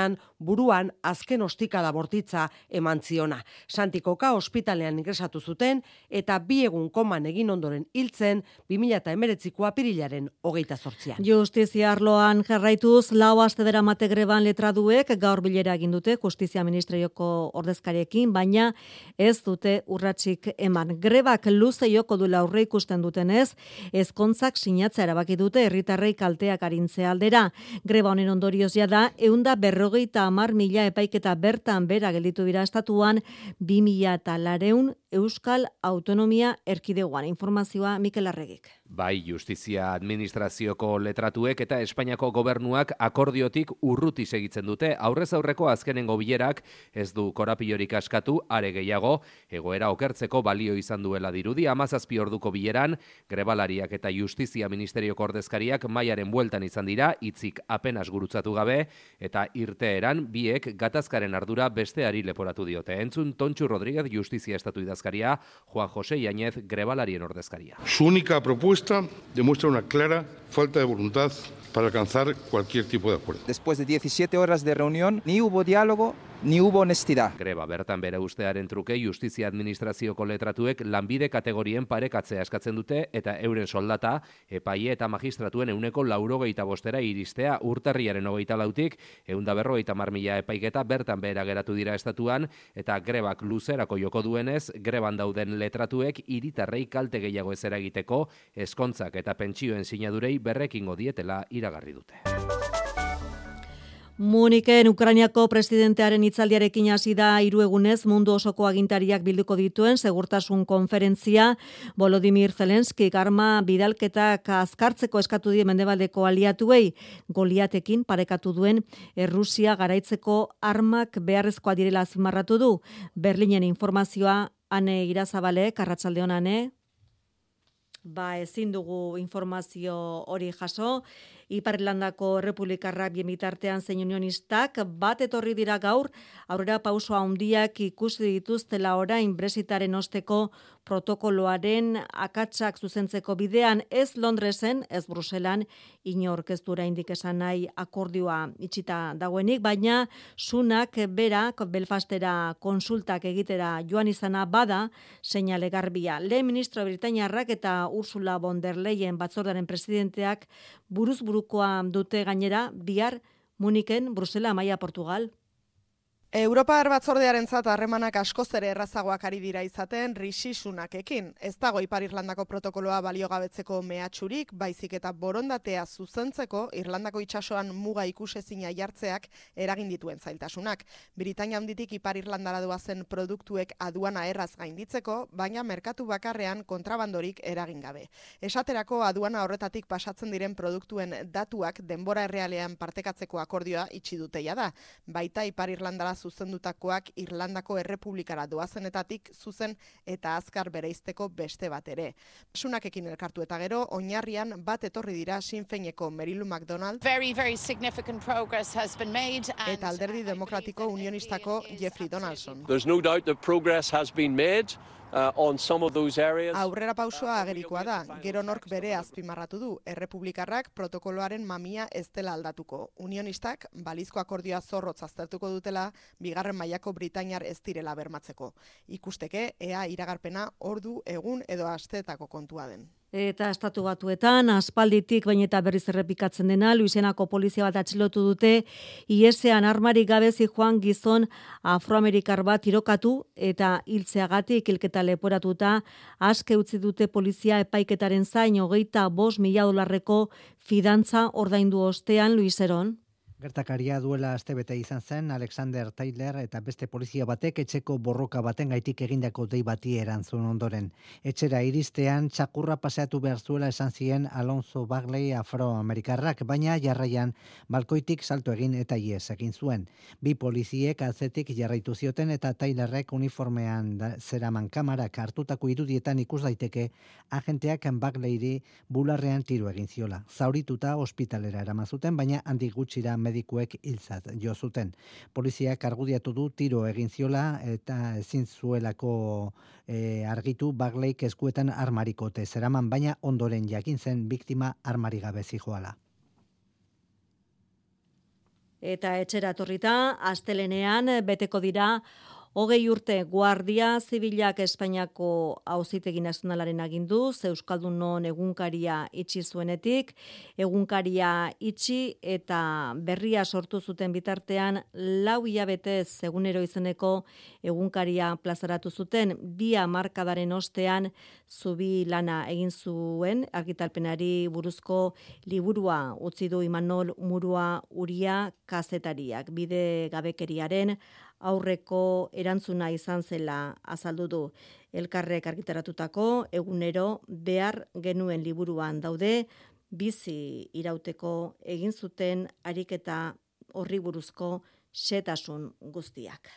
ostean buruan azken ostikada bortitza eman ziona. Santikoka ospitalean ingresatu zuten eta bi egun koman egin ondoren hiltzen bi mila hemeretziko apirilaren hogeita zortzian. Justizia arloan jarraituz, lau aste daramate greban letraduek gaur bilera egin dute Justizia Ministerioko ordezkariekin, baina ez dute urratsik eman. Grebak luze joko duela aurre ikusten dutenez, ezkontzak sinatzea erabaki dute herritarrei kalteak arintzea aldera. Greba honen ondorioz da ehunda berrogeita hamar mila epaiketa bertan bera gelditu dira estatuan bi mila eta lareun Euskal Autonomia Erkidegoan. Informazioa Mikel Arregik. Bai, Justizia Administrazioko letratuek eta Espainiako gobernuak akordiotik urruti segitzen dute. Aurrez aurreko azkenengo bilerak ez du korapilorik askatu, are gehiago, egoera okertzeko balio izan duela dirudi. Hamazazpi orduko bileran, grebalariak eta Justizia Ministerioko ordezkariak mailaren bueltan izan dira, hitzik apenas gurutzatu gabe, eta irteeran biek gatazkaren ardura besteari leporatu diote. Entzun Tontxu Rodríguez, Justizia Estatu idazkaria, Juan José Yáñez, grebalarien ordezkaria. Su única propuesta demuestra una clara falta de voluntad para alcanzar cualquier tipo de acuerdo. Después de diecisiete horas de reunión, ni hubo diálogo, ni hubo honestidad. Greba bertan bere ustearen truke Justizia Administrazioko letratuek lanbide kategorien parekatzea eskatzen dute eta euren soldata epaile eta magistratuen euneko laurogeita bostera iristea urtarriaren hogeita lautik eunda berrogeita hamar mila epaiketa bertan behera geratu dira estatuan eta grebak luzerako joko duenez greban dauden letratuek hiritarrei kalte gehiago ez eragiteko ezkontzak eta pentsioen sinadurei berrekingo dietela iragarri dute. Muniken Ukrainiako presidentearen hitzaldiarekin hasi da hiru egunez mundu osoko agintariak bilduko dituen segurtasun konferentzia. Volodymyr Zelensky arma bidalketak azkartzeko eskatu die mendebaldeko aliatuei, Goliatekin parekatu duen Errusia garaitzeko armak beharrezkoa direla azpimarratu du. Berlinen informazioa Ane Irazabalek, arratsaldeon Ane. Ba, ezin dugu informazio hori jaso. Ipar Irlandako Errepublikarrak bien bitartean zein unionistak bat etorri dira gaur, aurrera pauso handiak ikusi dituztela orain Brexitaren osteko protokoloaren akatsak zuzentzeko bidean, ez Londresen, ez Bruselan, inork ez du oraindik esan nahi akordioa itxita dagoenik, baina Sunak berak Belfastera konsultak egitera joan izana bada seinale garbia. Lehen ministro Britainiarrak eta Ursula von der Leyen batzordaren presidenteak buruz burukoa dute gainera bihar Muniken, Brusela, Amaia, Portugal. Europar batzordearentzat harremanak askoz ere errazagoak ari dira izaten Rishi Sunakekin. Ez dago Ipar Irlandako protokoloa baliogabetzeko mehatxurik, baizik eta borondatea zuzentzeko Irlandako itsasoan muga ikusezina jartzeak eragin dituen zailtasunak. Britainia handitik Ipar Irlandara doazen produktuek aduana erraz gainditzeko, baina merkatu bakarrean kontrabandorik eragin gabe. Esaterako aduana horretatik pasatzen diren produktuen datuak denbora errealean partekatzeko akordioa itxi dute jada. Baita Ipar Irlandara zuzendutakoak Irlandako Errepublikara doazenetatik zuzen eta azkar bereizteko beste bat ere. Sunakekin elkartu eta gero, oinarrian bat etorri dira Sinn Féineko Merilu McDonald very, very significant progress has been made and eta Alderdi Demokratiko Unionistako Jeffrey Donaldson. There's no doubt that progress has been made. Uh, on some of those areas. Aurrera pausoa agerikoa da, gero nork bere azpimarratu du, Errepublikarrak protokoloaren mamia ez dela aldatuko. Unionistak balizko akordioa zorrotz aztertuko dutela, bigarren mailako Britainiar ez direla bermatzeko. Ikusteke, ea iragarpena ordu, egun edo asteetako kontua den. Eta estatu batuetan, aspalditik baina eta berriz errepikatzen dena, Luisianako polizia bat atxilotu dute, iesean armarik gabe zijoan gizon afroamerikar bat tirokatu eta hiltzeagatik hilketa leporatuta, aske utzi dute polizia epaiketaren zain hogeita bost mila dolarreko fidantza ordaindu ostean Luiseron. Gertakaria duela astebete izan zen Alexander Taylor eta beste polizia batek etxeko borroka baten gaitik egindako dei bati erantzun ondoren. Etxera iristean txakurra paseatu behar zuela esan zien Alonso Bagley afroamerikarrak, baina jarraian balkoitik salto egin eta ies egin zuen. Bi poliziek atzetik jarraitu zioten eta Taylorrek uniformean zeraman kamarak hartutako irudietan ikus daiteke agenteak Bagleyri bularrean tiro egin ziola. Zaurituta ospitalera eraman zuten, baina handik gutxira medikuek hiltzat jo zuten. Poliziak argudiatu du tiro egin ziola eta ezin zuelako e, argitu Bagleyk eskuetan armarikote zeraman, baina ondoren jakin zen biktima armari gabe zijoala. Eta etxera etorrita, astelenean beteko dira hogei urte Guardia Zibilak Espainiako Auzitegi Nazionalaren aginduz, Euskaldunon egunkaria itxi zuenetik, egunkaria itxi eta berria sortu zuten bitartean lau hilabetez egunero izeneko egunkaria plazaratu zuten, bi hamarkadaren ostean zubi lana egin zuen, argitalpenari buruzko liburua utzi du Imanol Murua Uria kazetariak, bide gabekeriaren aurreko erantzuna izan zela azaldu du. Elkarrek argitaratutako egunero behar genuen liburuan daude, bizi irauteko egin zuten ariketa horri buruzko xehetasun guztiak.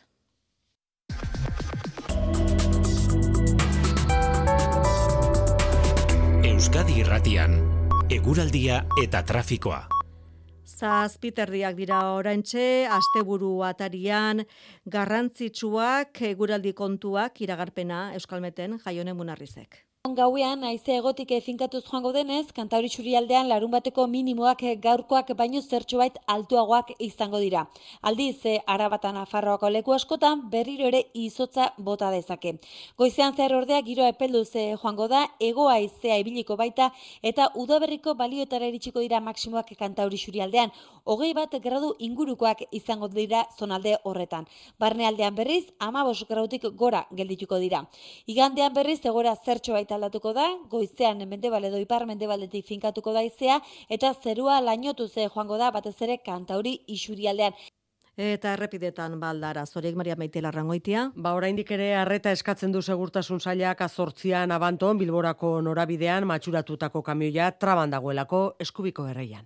Euskadi Irratian, eguraldia eta trafikoa. Zazpiterdiak dira oraintxe, asteburu atarian garrantzitsuak eguraldi kontuak iragarpena Euskalmeten Jaione Munarrizek. Gauean, haize egotik finkatuz joango denez, Kantauri Isurialdean larun bateko minimoak gaurkoak baino zertxobait altuagoak izango dira. Aldiz, Arabatan Nafarroako leku askotan berriro ere izotza bota dezake. Goizean zehar ordea giroa epelduz joango da, hego haizea ibiliko baita eta udaberriko balioetara iritsiko dira maksimoak Kantauri Isurialdean. Hogei bat gradu ingurukoak izango dira zonalde horretan. Barnealdean berriz, hamabost gradutik gora geldituko dira. Igandean berriz, egora zertxobait aldatuko da, goizean mendebal edo ipar mendebaldetik finkatuko da haizea eta zerua lainotu ze joango da batez ere Kantauri Isurialdean. Eta errepidetan baldara, zoriek Maria Maite Larrangoitia. Ba, oraindik ere arreta eskatzen du segurtasun sailak azortzian Abanton Bilborako norabidean matxuratutako kamioia traban dagoelako Eskubiko erreian.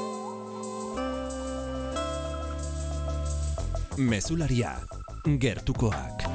Mezularia, gertukoak.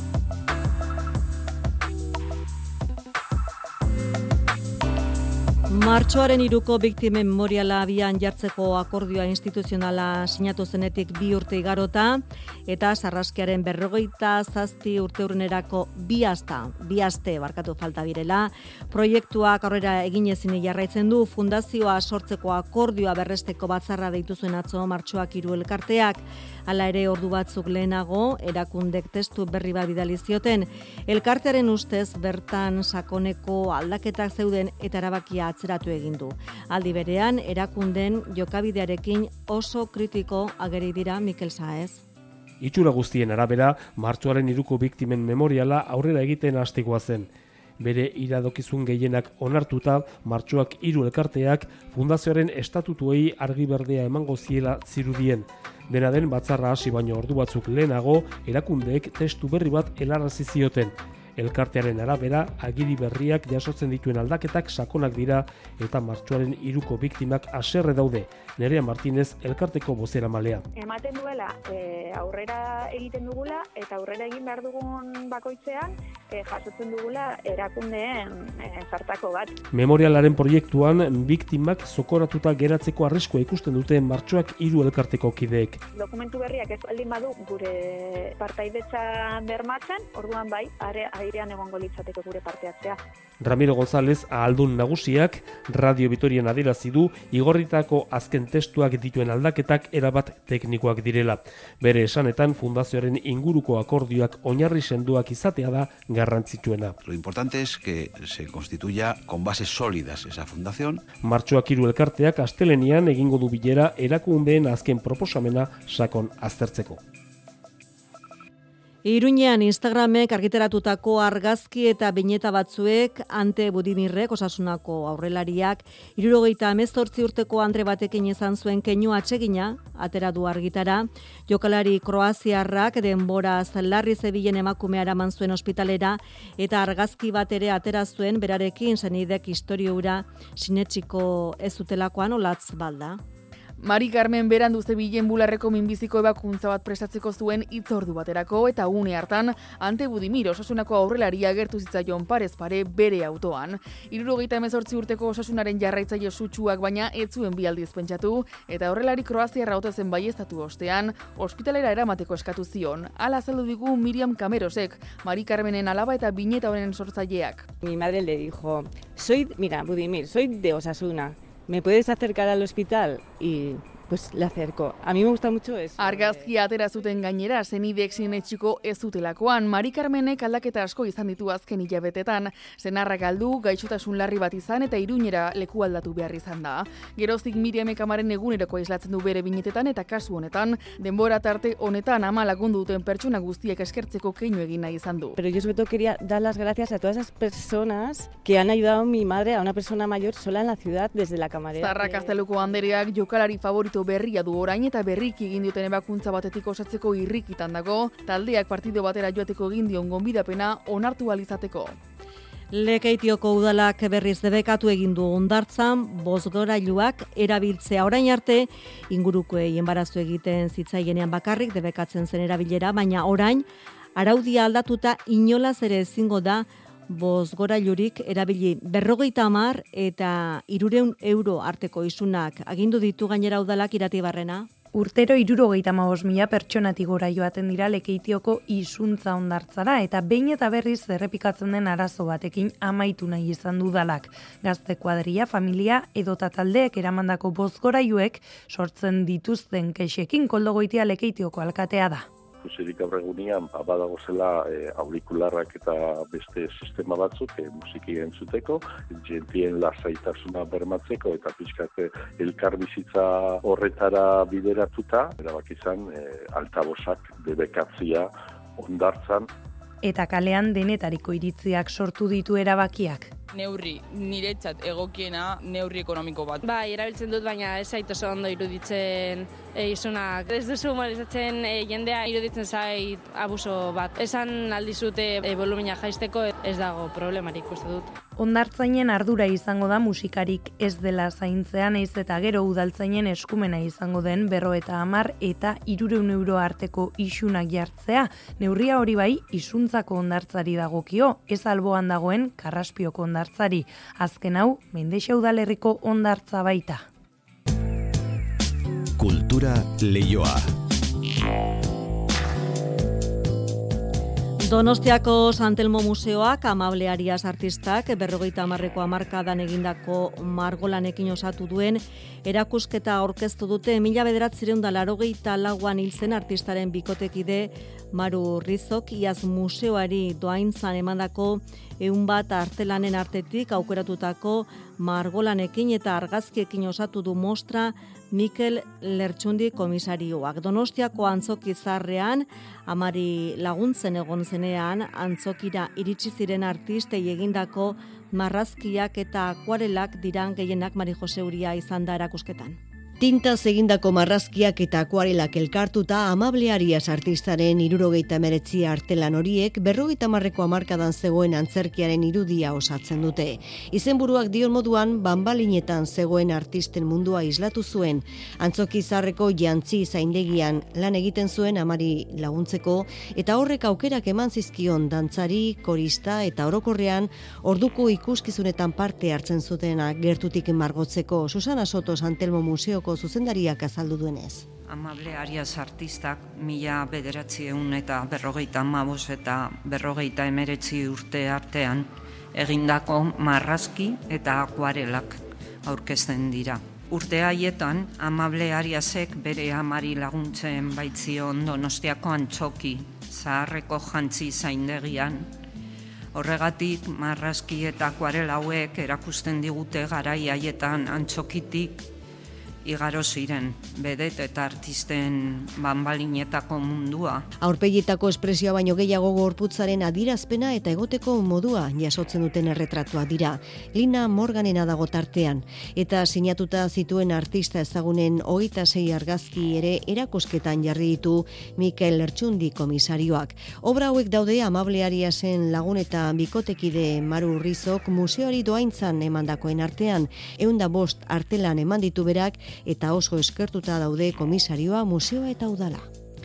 Martxoaren hiruko biktimen memoriala abian jartzeko akordioa instituzionala sinatu zenetik bi urte igarota eta sarraskiaren berrogeita zazpi urteurrenerako bi asta, bi aste barkatu falta direla, proiektuak aurrera egin ezin jarraitzen du fundazioa sortzeko akordioa berresteko batzarra deitu zuen atzo Martxoak hiru elkarteak. Hala ere ordu batzuk lehenago, erakundek testu berri bat bidali zioten. Elkartearen ustez bertan sakoneko aldaketak zeuden eta erabakia atzeratu egin du. Aldi berean, erakunden jokabidearekin oso kritiko ageri dira Mikel Saez. Itxura guztien arabera, martxoaren hiruko biktimen memoriala aurrera egiten hastikoa zen. Bere iradokizun gehienak onartuta, Martxoak hiru elkarteak fundazioaren estatutuei argi berdea emango ziela zirudien. Dena den batzarra hasi baino ordu batzuk lehenago, erakundeek testu berri bat helarazi zioten. Elkartearen arabera, agiri berriak jasotzen dituen aldaketak sakonak dira eta martxoaren hiruko biktimak haserre daude. Nerea Martinez, elkarteko bozeramalea. Ematen duela e, aurrera egiten dugula eta aurrera egin behar dugun bakoitzean e, jasotzen dugula erakundeen e, zartako bat. Memorialaren proiektuan biktimak zokoratuta geratzeko arriskua ikusten dute Martxoak hiru elkarteko kideek. Dokumentu berriak ez baldin badu gure partaidetza bermatzen, orduan bai, are airean egongo litzateke gure parteatzea. Ramiro González, ahaldun nagusiak, Radio Vitorian adierazi du igorritako azken testuak dituen aldaketak erabat teknikoak direla. Bere esanetan fundazioaren inguruko akordioak oinarri sendoak izatea da garrantzitsuena. Lo importante es que se constituya con bases sólidas esa fundación. Martxoak hiru elkarteak astelenian egingo du bilera erakundeen azken proposamena sakon aztertzeko. Iruñean Instagramek argitaratutako argazki eta bineta batzuek Ante Budimirrek osasunako aurrelariak hirurogeita hemezortzi urteko andre batekin izan zuen keinu atsegina atera du argitara. Jokalari kroaziarrak denboraz larri zebilen emakumea eraman zuen ospitalera eta argazki bat ere atera zuen berarekin senidek istorio hura sinetsiko ez zutelakoan olatz balda. Mari Carmen berandu zebilen bularreko minbiziko ebakuntza bat prestatzeko zuen hitzordu baterako eta une hartan Ante Budimir osasunako aurrelaria agertu zitzaion parez pare bere autoan. hirurogeita hemezortzi urteko osasunaren jarraitzaile sutsuak baina ez zuen bi aldiz pentsatu eta aurrelari kroaziarra ote zen baieztatu ostean ospitalera eramateko eskatu zion. Hala azaldu digu Miriam Camerosek, Mari Carmenen alaba eta bineta honen sortzaileak. Mi madre le dijo, soy, mira, Budimir, soy de Osasuna. ¿Me puedes acercar al hospital? Y pues le acerco. A mí me gusta mucho eso. Argazkia atera zuten gainera, senidek sinetxiko ez zutelakoan. Mari Carmenek aldaketa asko izan ditu azken hilabetetan. Senarra galdu, gaixotasun larri bat izan eta Iruñera leku aldatu behar izan da. Geroztik Miriamek amaren eguneroko islatzen du bere binetetan eta kasu honetan, denbora tarte honetan ama lagundu duten pertsona guztiek eskertzeko keinu egin nahi izan du. Pero yo sobre todo quería dar las gracias a todas esas personas que han ayudado a mi madre, a una persona mayor sola en la ciudad desde la camarera. Zarra Kasteluko andereak jokalari favorito berria du orain eta berriki egin duten ebakuntza batetik osatzeko irrikitan dago, taldeak partido batera joateko egin dion gonbidapena onartu alizateko. Lekeitioko udalak berriz debekatu egin du hondartzan bozgorailuak erabiltzea orain arte ingurukoei enbarazu egiten zitzaienean bakarrik debekatzen zen erabilera, baina orain araudia aldatuta inolaz ere ezingo da bozgorailurik erabili berrogeita hamar eta hirurehun euro arteko isunak agindu ditu gainera udalak Iratibarrena. Urtero hirurogeita hamabost mila pertsonatik gora joaten dira Lekeitioko isuntza hondartzara eta behin eta berriz errepikatzen den arazo batekin amaitu nahi izan du udalak. Gazte kuadrilla, familia edota taldeek eramandako bozgorailuek sortzen dituzten kexekin Koldo Goitia Lekeitioko alkatea da. Ikusirik gaur egunean badago zela e, aurikularrak eta beste sistema batzuk e, musiki entzuteko, jentien lasaitasuna bermatzeko eta pixkate elkarbizitza horretara bideratuta, erabaki izan e, altabosak debekatzia hondartzan. Eta kalean denetariko iritziak sortu ditu erabakiak. Neurri, niretzat egokiena neurri ekonomiko bat. Bai, erabiltzen dut, baina ez zait oso ondo iruditzen e, isunak. Ez duzu humorizatzen e, jendea iruditzen zait abuso bat. Esan aldizute e, volumina jaisteko ez dago problemarik, uste dut. Hondartzainen ardura izango da musikarik ez dela zaintzea, naiz eta gero udaltzainen eskumena izango den berrogeita hamar eta hirurehun euro arteko isunak jartzea. Neurria hori bai isuntzako hondartzari dagokio, ez alboan dagoen Karraspioko hondartzari. Azken hau, Mendexa udalerriko hondartza baita. Kultura Leioa. Donostiako Santelmo Museoak Amable Arias artistak berrogeita hamarreko hamarkadan egindako margolanekin osatu duen erakusketa aurkeztu dute mila bederatziehun eta laurogeita lauan hil zen artistaren bikotekide Maru Rizok iaz museoari doaintzan emandako ehun bat artelanen artetik aukeratutako margolanekin eta argazkiekin osatu du mostra Mikel Lertxundi komisarioak. Donostiako antzoki zarrean, amari laguntzen egon zenean, antzokira iritsi ziren artistei egindako marrazkiak eta akuarelak diran gehienak Mari Jose Uria izan da erakusketan. Tintaz egindako marrazkiak eta akuarelak elkartuta Amable Arias artistaren hirurogeita hemeretzi artelan horiek berrogeita hamarreko hamarkadan zegoen antzerkiaren irudia osatzen dute. Izenburuak dion moduan banbalinetan zegoen artisten mundua islatu zuen. Antzoki zarreko jantzi zaindegian lan egiten zuen amari laguntzeko eta horrek aukerak eman zizkion dantzari, korista eta orokorrean orduko ikuskizunetan parte hartzen zutenak gertutik margotzeko. Susana Soto Santelmo Museoko zuzendariak azaldu duenez. Amable Arias artistak mila bederatziehun eta berrogeita hamabost eta berrogeita hemeretzi urte artean egindako marrazki eta akuarelak aurkezten dira. Urte haietan Amable Ariasek bere amari laguntzen baitzion Donostiako antzoki zaharreko jantzi zaindegian. Horregatik marrazki eta akuarela hauek erakusten digute garai haietan antzokitik igaro ziren, bedet eta artisten banbalinetako mundua. Aurpegietako espresioa baino gehiago gorputzaren adirazpena eta egoteko modua jasotzen duten erretratua dira. Lina Morganena dago tartean, eta sinatuta zituen artista ezagunen hogeita sei argazki ere erakusketan jarri ditu Mikel Lertxundi komisarioak. Obra hauek daude Amable Ariasen lagun eta bikotekide Maru Rizok museoari doaintzan emandakoen artean, ehun eta bost artelan eman ditu berak, eta oso eskertuta daude komisarioa, museoa eta udala.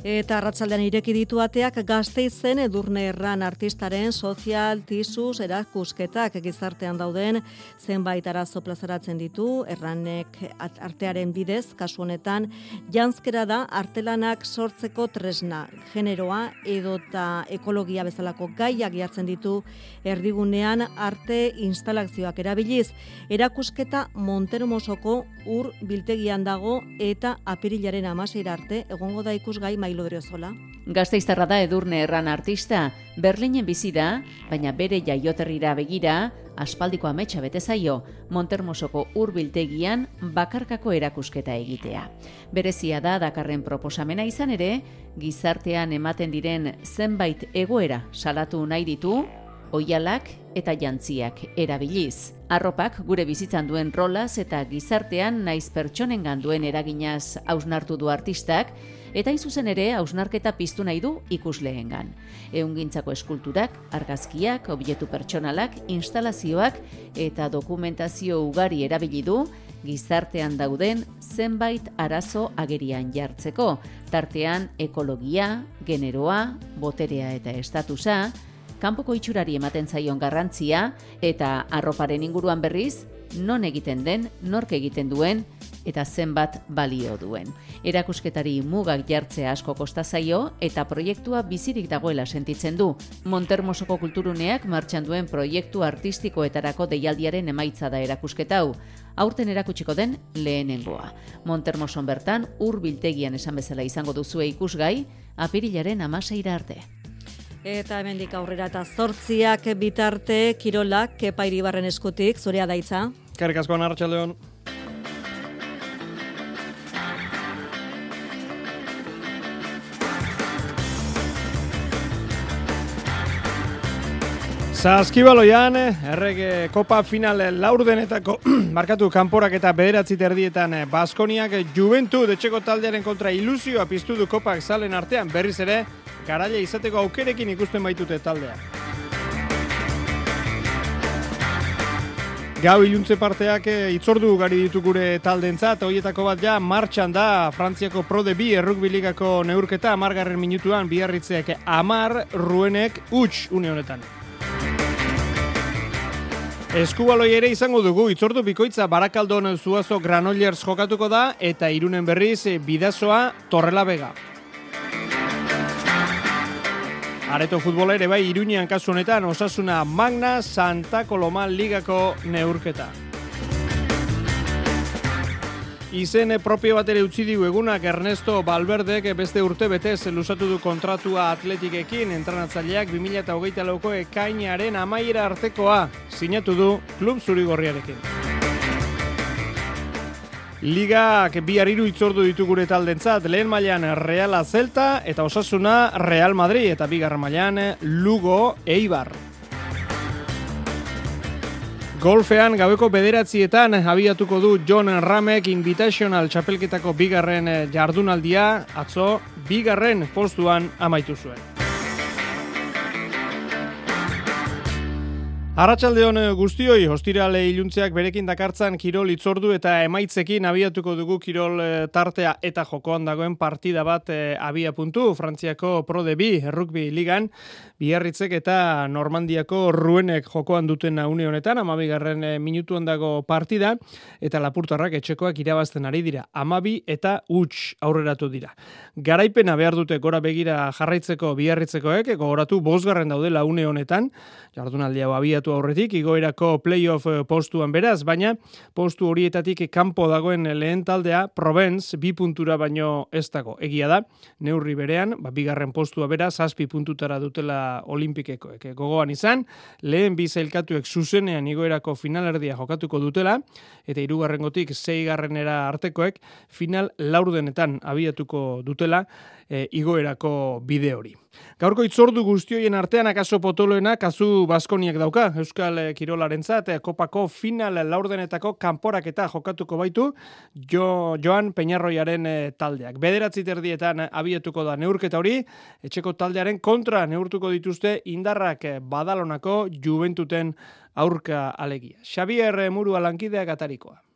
Eta arratsaldean ireki ditu ateak Gasteizen Edurne Erran artistaren sozial tisuz erakusketak gizartean dauden zenbait arazo plazaratzen ditu. Erranek artearen bidez, kasu honetan, janzkera da artelanak sortzeko tresna, generoa edota ekologia bezalako gaiak jartzen ditu erdigunean arte instalazioak erabiliz. Erakusketa Montermosoko ur biltegian dago eta apirilaren hamaseira arte egongo da ikusgai Lodriozola. Gasteiztarra da Edurne Erran artista, Berlinen bizi da, baina bere jaioterrira begira, aspaldiko ametsa bete zaio, Montermosoko urbiltegian bakarkako erakusketa egitea. Berezia da dakarren proposamena izan ere, gizartean ematen diren zenbait egoera salatu nahi ditu, oihalak eta jantziak erabiliz. Arropak gure bizitzan duen rolaz eta gizartean naiz pertsonengan duen eraginaz hausnartu du artistak, eta izuzen ere hausnarketa piztu nahi du ikusleengan. Ehungintzako eskulturak, argazkiak, objektu pertsonalak, instalazioak eta dokumentazio ugari erabili du gizartean dauden zenbait arazo agerian jartzeko, tartean ekologia, generoa, boterea eta estatusa, kanpoko itxurari ematen zaion garrantzia eta arroparen inguruan berriz, non egiten den, nork egiten duen eta zenbat balio duen. Erakusketari mugak jartzea asko kosta zaio eta proiektua bizirik dagoela sentitzen du. Montermosoko kulturuneak martxan duen proiektu artistikoetarako deialdiaren emaitza da erakusketa hau. Aurten erakutsiko den lehenengoa. Montermoson bertan ur biltegian esan bezala izango duzue ikusgai, apirilaren hamaseira arte. Eta hemendik aurrera eta zortziak bitarte kirolak Kepa Iribarren eskutik, zurea daitza. Eskerrik asko, arratsaldeon. Saskibaloian, errege kopa final laurdenetako markatu kanporak eta bederatzi terdietan Baskoniak Juventud etxeko taldearen kontra ilusioa piztu du kopak zalen artean, berriz ere garaia izateko aukerekin ikusten baitute taldea. Gau iluntze parteak itzordu gari ditu gure taldentzat, horietako bat ja martxan da Frantziako Pro de bi errugbi ligako neurketa, amargarren minutuan Biarritzeak amar, Ruenek huts une honetan. Eskubaloi ere izango dugu, itzordu bikoitza Barakaldon Zuazo Granollers jokatuko da eta Irunen berriz Bidasoa Torrelavega. Areto futbola ere bai Iruñean kasu honetan Osasuna Magna Santa Coloma ligako neurketa. Izen propio bat ere utzi diu egunak Ernesto Valverdek beste urte betez luzatu du kontratua Atletikekin, entrenatzaileak bi mila hogeita lauko ekainaren amaiera artekoa sinatu du klub zurigorriarekin. Ligak bihar hiru itzordu ditu gure taldentzat, lehen mailan Reala Celta eta Osasuna Real Madrid eta bigarren mailan Lugo Eibar. Golfean gaueko bederatzietan abiatuko du John Ramek Invitational txapelketako bigarren jardunaldia, atzo bigarren postuan amaitu zuen. Arratsaldeon guztioi, ostirale iluntzeak berekin dakartzan kirol itzordu eta emaitzekin abiatuko dugu kirol tartea eta jokoan dagoen partida bat abia puntu. Frantziako Pro de bi errugbi ligan, Biarritzek eta Normandiako Ruenek jokoan duten une honetan, amabigarren minutuan dago partida, eta lapurtarrak etxekoak irabazten ari dira. Amabi eta huts aurreratu dira. Garaipena behar dute gora begira jarraitzeko Biarritzekoek, gogoratu bosgarren daudela une honetan, jardunaldi hau abiatu aurretik, igoerako playoff postuan beraz, baina postu horietatik kanpo dagoen lehen taldea, Provence, bi puntura baino ez dago. Egia da, neurri berean, ba, bigarren postua beraz, zazpi puntutara dutela olimpikekoek. Gogoan izan, lehen bi zailkatuek zuzenean igoerako finalerdia jokatuko dutela, eta hirugarrengotik seigarrenera artekoek final laurdenetan abiatuko dutela e, igoerako bide hori. Gaurko itzordu guztioien artean akaso potoloena kasu Baskoniak dauka, Euskal Kirolarentzat, kopako final laurdenetako kanporaketa jokatuko baitu jo, Joan Peñarroiaren taldeak. Bederatzi terdietan abiatuko da neurketa hori, etxeko taldearen kontra neurtuko dituzte indarrak Badalonako Juventuten aurka alegia. Xabier Murua lankideak atarikoa.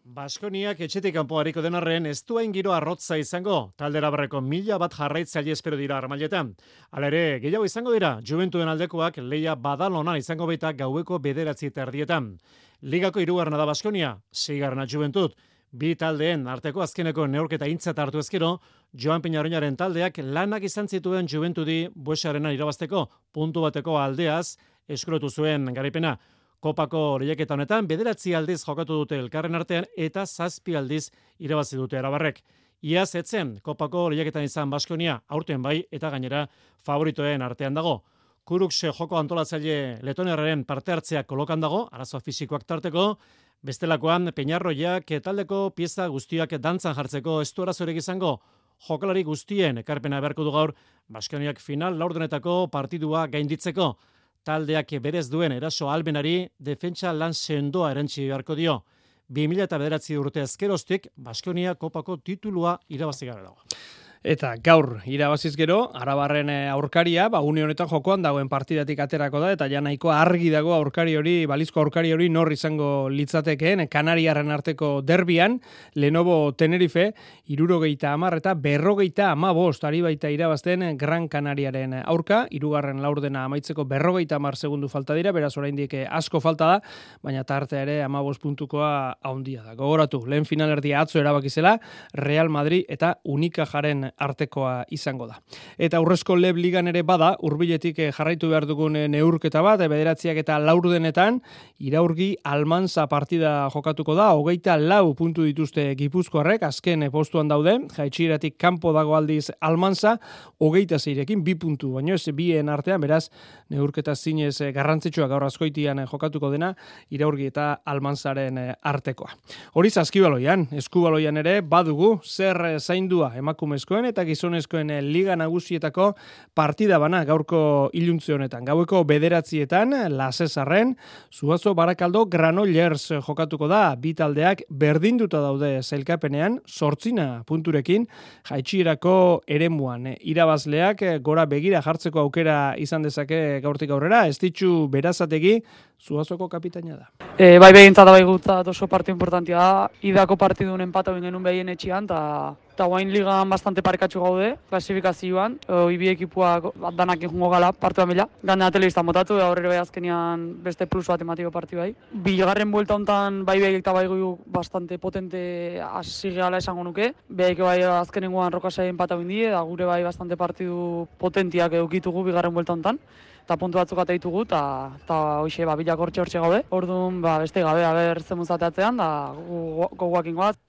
Baskoniak etxetik kanpo hariko den arren ez duen giro arrotza izango, taldera barreko mila bat jarraitzaile espero dira armailetan. Hala ere, gehiago izango dira, Juventuden aldekoak leia Badalona izango baita gaueko bederatzi terdietan. Ligako hirugarrena da Baskonia, seigarrena Juventud. Bi taldeen arteko azkeneko neurketa aintzat hartu ezkero, Joan Peñarroñaren taldeak lanak izan zituen Juventudi Buesarena irabazteko puntu bateko aldeaz eskurotu zuen garaipena. Kopako lehiaketa honetan bederatzi aldiz jokatu dute elkarren artean eta zazpi aldiz irabazi dute arabarrek. Iaz etzen Kopako lehiaketan izan Baskonia, aurten bai eta gainera favoritoen artean dago. Kurukse joko antolatzaile letoniarraren parte hartzea kolokan dago, arazo fisikoak tarteko, bestelakoan Peñarroiak taldeko pieza guztiak dantzan jartzeko ez du arazorik izango. Jokalari guztien ekarpena beharko du gaur Baskoniak final laurdenetako partidua gainditzeko. Taldeak berez duen eraso albenari defentsa lan sendoa erantzi beharko dio. bi mila bederatzi urte ezkeroztik Baskonia Kopako titulua irabazi gara dago. Eta gaur irabaziz gero, Arabarren aurkaria, ba, une honetan jokoan dagoen partidatik aterako da, eta ja nahiko argi dago aurkari hori, balizko aurkari hori nor izango litzatekeen, Kanariarren arteko derbian, Lenovo Tenerife, hirurogeita hamar eta berrogeita hamabost, ari baita irabazten Gran Canariaren aurka, hirugarren laurdena amaitzeko berrogeita hamar segundu falta dira, beraz oraindik asko falta da, baina tartea ere hamabost puntukoa haundia da. Gogoratu, lehen finalerdia atzo erabakizela, Real Madrid eta Unicajaren artekoa izango da. Eta aurrezko Leb Ligan ere bada, hurbiletik jarraitu behar dugun neurketa bat, bederatziak eta laurdenetan, Iraurgi Almanza partida jokatuko da, hogeita lau puntu dituzte Gipuzkoarrek, azken postuan daude, jaitxiratik kanpo dago aldiz Almanza, hogeita zeirekin, bi puntu, baino ez bien artean, beraz, neurketa zinez garrantzitsua gaur azkoitian jokatuko dena, Iraurgi eta Almanzaren artekoa. Hori zazkibaloian, eskubaloian ere, badugu, zer zaindua emakumezko eta gizonezkoen liga nagusietako partida bana gaurko iluntze honetan. Gaueko bederatzietan, Lasesarren, Zuazo Barakaldo Granollers jokatuko da, bi taldeak berdinduta daude zailkapenean, sortzina punturekin, jaitxierako eremuan. Irabazleak gora begira jartzeko aukera izan dezake gaurtik aurrera, ez ditxu Berazategi, Zuazoko kapitaina da. E, bai begintzat bai gutzat oso partiu importantia da, idako partidun empata genuen behien etxian, eta eta guain ligan bastante parekatxu gaude, klasifikazioan, ibi ekipuak danak injungo gala, partua mila. Gandena telebista motatu, da horre bai azkenian beste plus bat ematiko partiu bai. Bigarren buelta hontan bai behik eta bai gu bastante potente hasi gehala esango nuke. Behik bai azkenengoan rokasaien pata bindie, da gure bai bastante partidu potentiak edukitugu bigarren buelta hontan. Eta puntu batzuk ateitugu, eta hoxe, ba, bilak hortxe hortxe gaude. Orduan, ba, beste gabe, haber zemuzateatzean, da goguak ingoaz.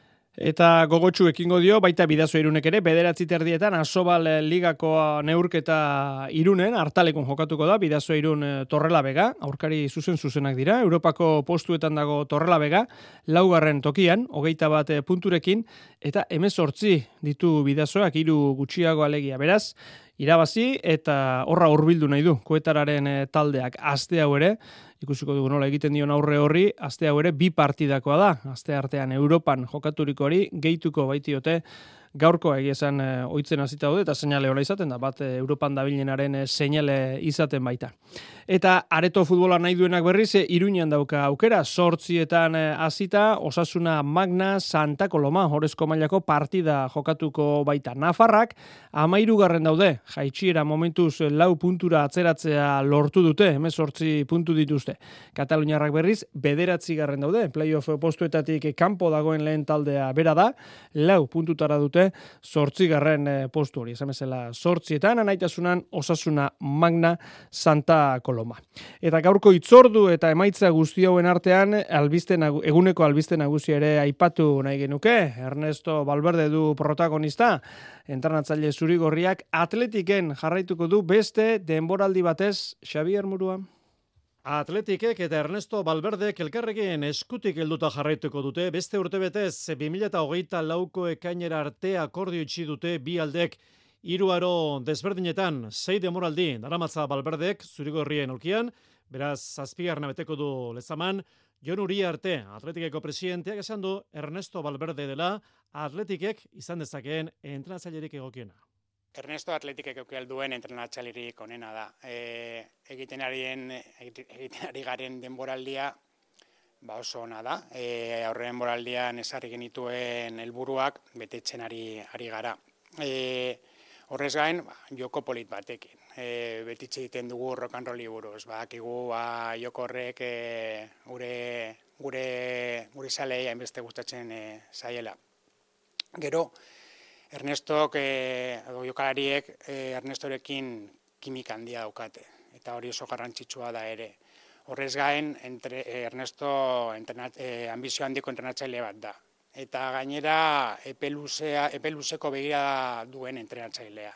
Eta gogotsu ekingo dio, baita Bidasoa Irunek ere, bederatzi terdietan Asobal Ligako neurketa Irunen, hartalekun jokatuko da, Bidasoa Irun Torrelavega, aurkari zuzen-zuzenak dira, Europako postuetan dago Torrelavega, laugarren tokian, hogeita bat punturekin, eta hemezortzi ditu Bidasoak, hiru gutxiago alegia, beraz, irabazi eta horra hurbildu nahi du Koetararen taldeak aste hau ere, ikusiko dugu nola egiten dion aurre horri, aste hau ere bi partidakoa da, aste artean Europan jokaturiko hori gehituko baitiote gaurkoa egia esan ohitzen hasita daude eta seinale hola izaten da, bat Europan dabilenaren seinale izaten baita. Eta areto futbola nahi duenak berriz, Iruñan dauka aukera, zortzietan hasita Osasuna Magna Santa Coloma, Horezko mailako partida jokatuko baita. Nafarrak hamahirugarren daude, jaitsiera momentuz lau puntura atzeratzea lortu dute, hemezortzi puntu dituzte. Kataluniarrak berriz, bederatzigarren daude, playoff postuetatik kanpo dagoen lehen taldea bera da, lau puntutara dute, zortzigarren postu hori, esan bezala zortzietan, anaitasunan Osasuna Magna Santa Coloma. Eta gaurko itzordu eta emaitza guzti hauen artean, albiste nagu, eguneko albiste nagusia ere aipatu nahi genuke, Ernesto Valverde du protagonista, entrenatzaile zurigorriak Atletiken jarraituko du beste denboraldi batez, Xabier Murua. Atletikek eta Ernesto Valverdek elkarrekin eskutik helduta jarraituko dute, beste urtebetez bi mila hogeita lauko ekainera arte akordio itxi dute bi aldek hiru aro desberdinetan sei denboraldi daramatza Valverdek zurigorrien aulkian, beraz zazpigarrena beteko du lezaman, Jon Uriarte, Atletikeko presidenteak esan du Ernesto Valverde dela Atletikek izan dezakeen entrenatzailerik egokiena. Ernesto Atletikek eukal duen entrenatzailerik onena da. E, egiten arien, egiten ari garen denboraldia, ba oso ona da. E, aurren moraldian ezarri genituen helburuak betetzen ari, ari gara. E, horrez gain, ba, joko polit batekin. E, betitze egiten dugu rock and rolli buruz. Badakigu ba, joko horrek e, gure, gure, gure zalei hainbeste gustatzen e, zaiela. Gero, Ernestok, e, jokalariek e, Ernestorekin kimika handia daukate, eta hori oso garrantzitsua da ere. Horrez gain, entre, Ernesto entrenat, eh, ambizio handiko entrenatzaile bat da. Eta gainera, epe, luzea, epe luzeko begira duen entrenatzailea.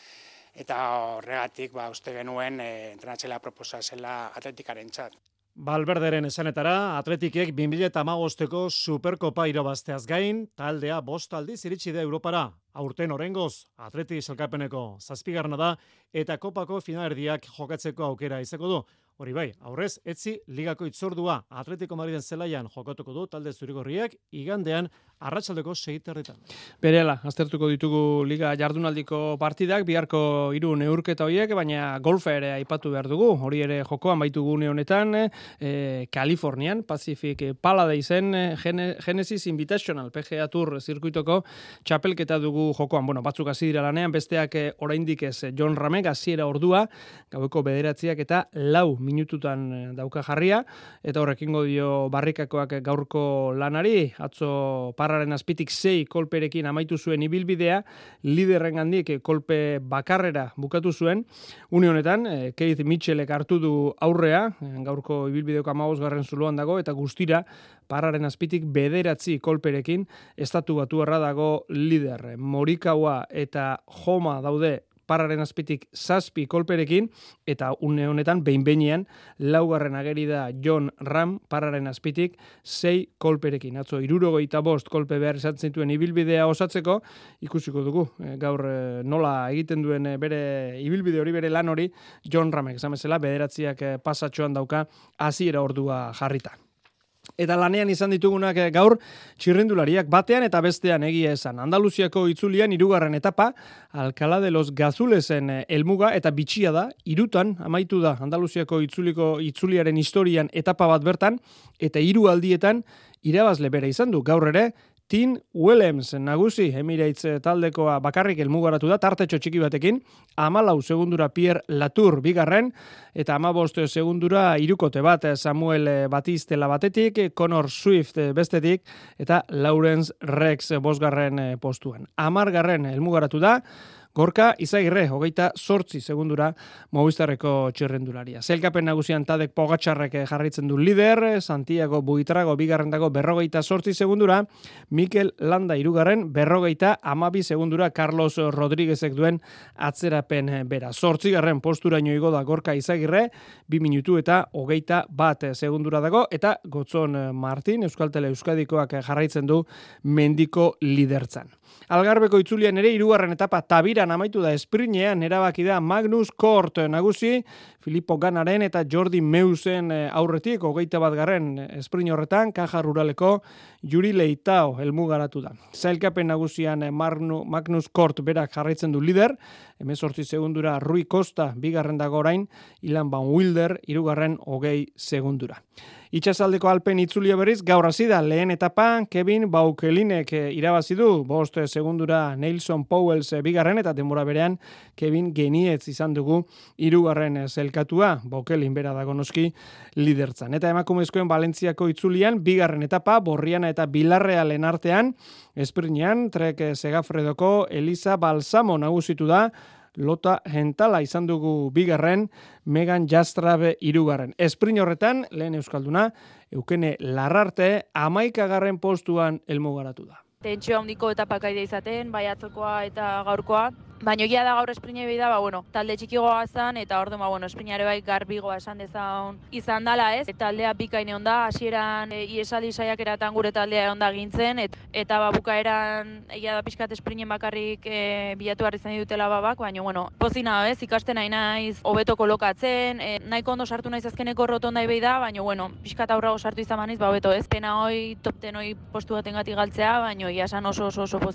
Eta horregatik, ba, uste genuen eh, entrenatzailea proposa zela atletikaren txat. Valverderen esanetara, Atletikek bi mila hamabosteko Superkopa irabazteaz gain, taldea bost aldiz iritsi da Europara. Aurten orengoz, Atleti sailkapeneko zazpigarrena da eta kopako finalerdiak jokatzeko aukera izango du. Hori bai, aurrez, etzi ligako itzordua Atletico Madriden zelaian jokatuko du talde zurigorriak igandean arratsaldeko sei terditan. Berela, aztertuko ditugu liga jardunaldiko partidak, biharko hiru neurketa horiek, baina golfa ere aipatu behar dugu. Hori ere jokoan baitugu une honetan, e, Kalifornian, Pacific Paladaisen Genesis Invitational, P G A Tour zirkuitoko txapelketa dugu jokoan. Bueno, batzuk hasi dira lanean, besteak oraindik ez John Ramek hasiera ordua, gaueko bederatziak eta lau minututan dauka jarria, eta horrekingo dio barrikakoak gaurko lanari, atzo parraren azpitik sei kolperekin amaitu zuen ibilbidea, liderren gandik kolpe bakarrera bukatu zuen, une honetan, Keith Mitchellek hartu du aurrea, gaurko ibilbideoko hamabosgarren zuloan dago, eta guztira parraren azpitik bederatzi kolperekin estatu batuarra dago lider. Morikawa eta Joma daude parraren azpitik zazpi kolperekin, eta une honetan behin-behinean laugarren ageri da John Ram parraren azpitik sei kolperekin. Atzo hirurogeita bost kolpe behar izan zituen ibilbidea osatzeko, ikusiko dugu gaur nola egiten duen bere ibilbide hori, bere lan hori, John Ramek, esan bezala, bederatziak pasatxoan dauka hasiera ordua jarrita. Eta lanean izan ditugunak gaur txirrindulariak batean eta bestean egia esan. Andaluziako itzulian hirugarren etapa, Alcalá de los Gazulesen helmuga eta bitxia da, hirutan amaitu da Andaluziako itzuliko itzuliaren historian etapa bat bertan, eta hiru aldietan irabazle bere izan du. Gaur ere, Tim Willems nagusi, Emirates taldekoa bakarrik helmugaratu da, tartetxo txiki batekin, hamalau segundura Pierre Latour bigarren, eta hamabost segundura irukote bat Samuel Batistela batetik, Connor Swift bestetik, eta Lawrence Rex bosgarren postuan. Hamargarren helmugaratu da, Gorka Izagirre, hogeita sortzi segundura Movistarreko txirrendularia. Zelkapen nagusian Tadek Pogačarrek jarraitzen du lider, Santiago Buitrago bigarren dago berrogeita sortzi segundura, Mikel Landa irugarren berrogeita amabi segundura Carlos Rodríguezek duen atzerapen bera. Sortzigarren posturaino igo da Gorka Izagirre, bi minutu eta hogeita bat segundura dago, eta Gotzon Martin, Euskaltele Euskadikoak jarraitzen du mendiko lidertzan. Algarbeko itzulian ere hirugarren etapa Tabiran amaitu da, esprinean erabaki da Magnus Kort nagusi, Filippo Ganaren eta Jordi Meusen aurretik, hogeita bat garren esprin horretan, Kaja Ruraleko Juri Leitao helmugaratu da. Zailkapen nagusian Magnus Kort berak jarraitzen du lider, hemezortzi segundura Rui Costa bigarren dago orain, Ilan Van Wilder hirugarren hogei segundura. Itxasaldeko Alpen itzulia berriz gaur hasi da lehen etapa, Kevin Baukelinek irabazi du, bost segundura Nelson Powells bigarren eta denbora berean Kevin Genietz izan dugu hirugarren zelkatua, Baukelin bera dago noski lidertzan. Eta emakumezkoen Valentziako itzulian bigarren etapa, Borriana eta Bilarrealen artean, esprinean Trek Segafredoko Elisa Balsamo nagusitu da, Lota Gentala izan dugu bigarren, Megan Jastrabe hirugarren. Esprin horretan, lehen euskalduna, Eukene Larrarte hamaikagarren postuan helmugaratu da. Tentsio handiko etapakaide izaten, bai atzokoa eta gaurkoa. Baina egia da gaur esprine behi da, ba, bueno, talde txikigoa zan, eta orduan, ba, bueno, esprinare bai garbigoa esan dezaun izan dala, ez? Taldea bikaine onda, hasieran e, iesaldi saiakeratan gure taldea onda gintzen, et, eta ba, bukaeran egia da pixkat esprinen bakarrik e, bilatu behar izan ditutela babak, baina, bueno, pozina, ez? Ikasten nahi naiz, hobeto kolokatzen, e, nahiko ondo sartu naiz azkeneko rotondai behi da, baina, bueno, pixkat aurrago sartu izan maniz, ba, hobeto, ez? Pena hoi, top ten hoi postu baten gati galtzea, baina, ia esan oso oso oso pozik.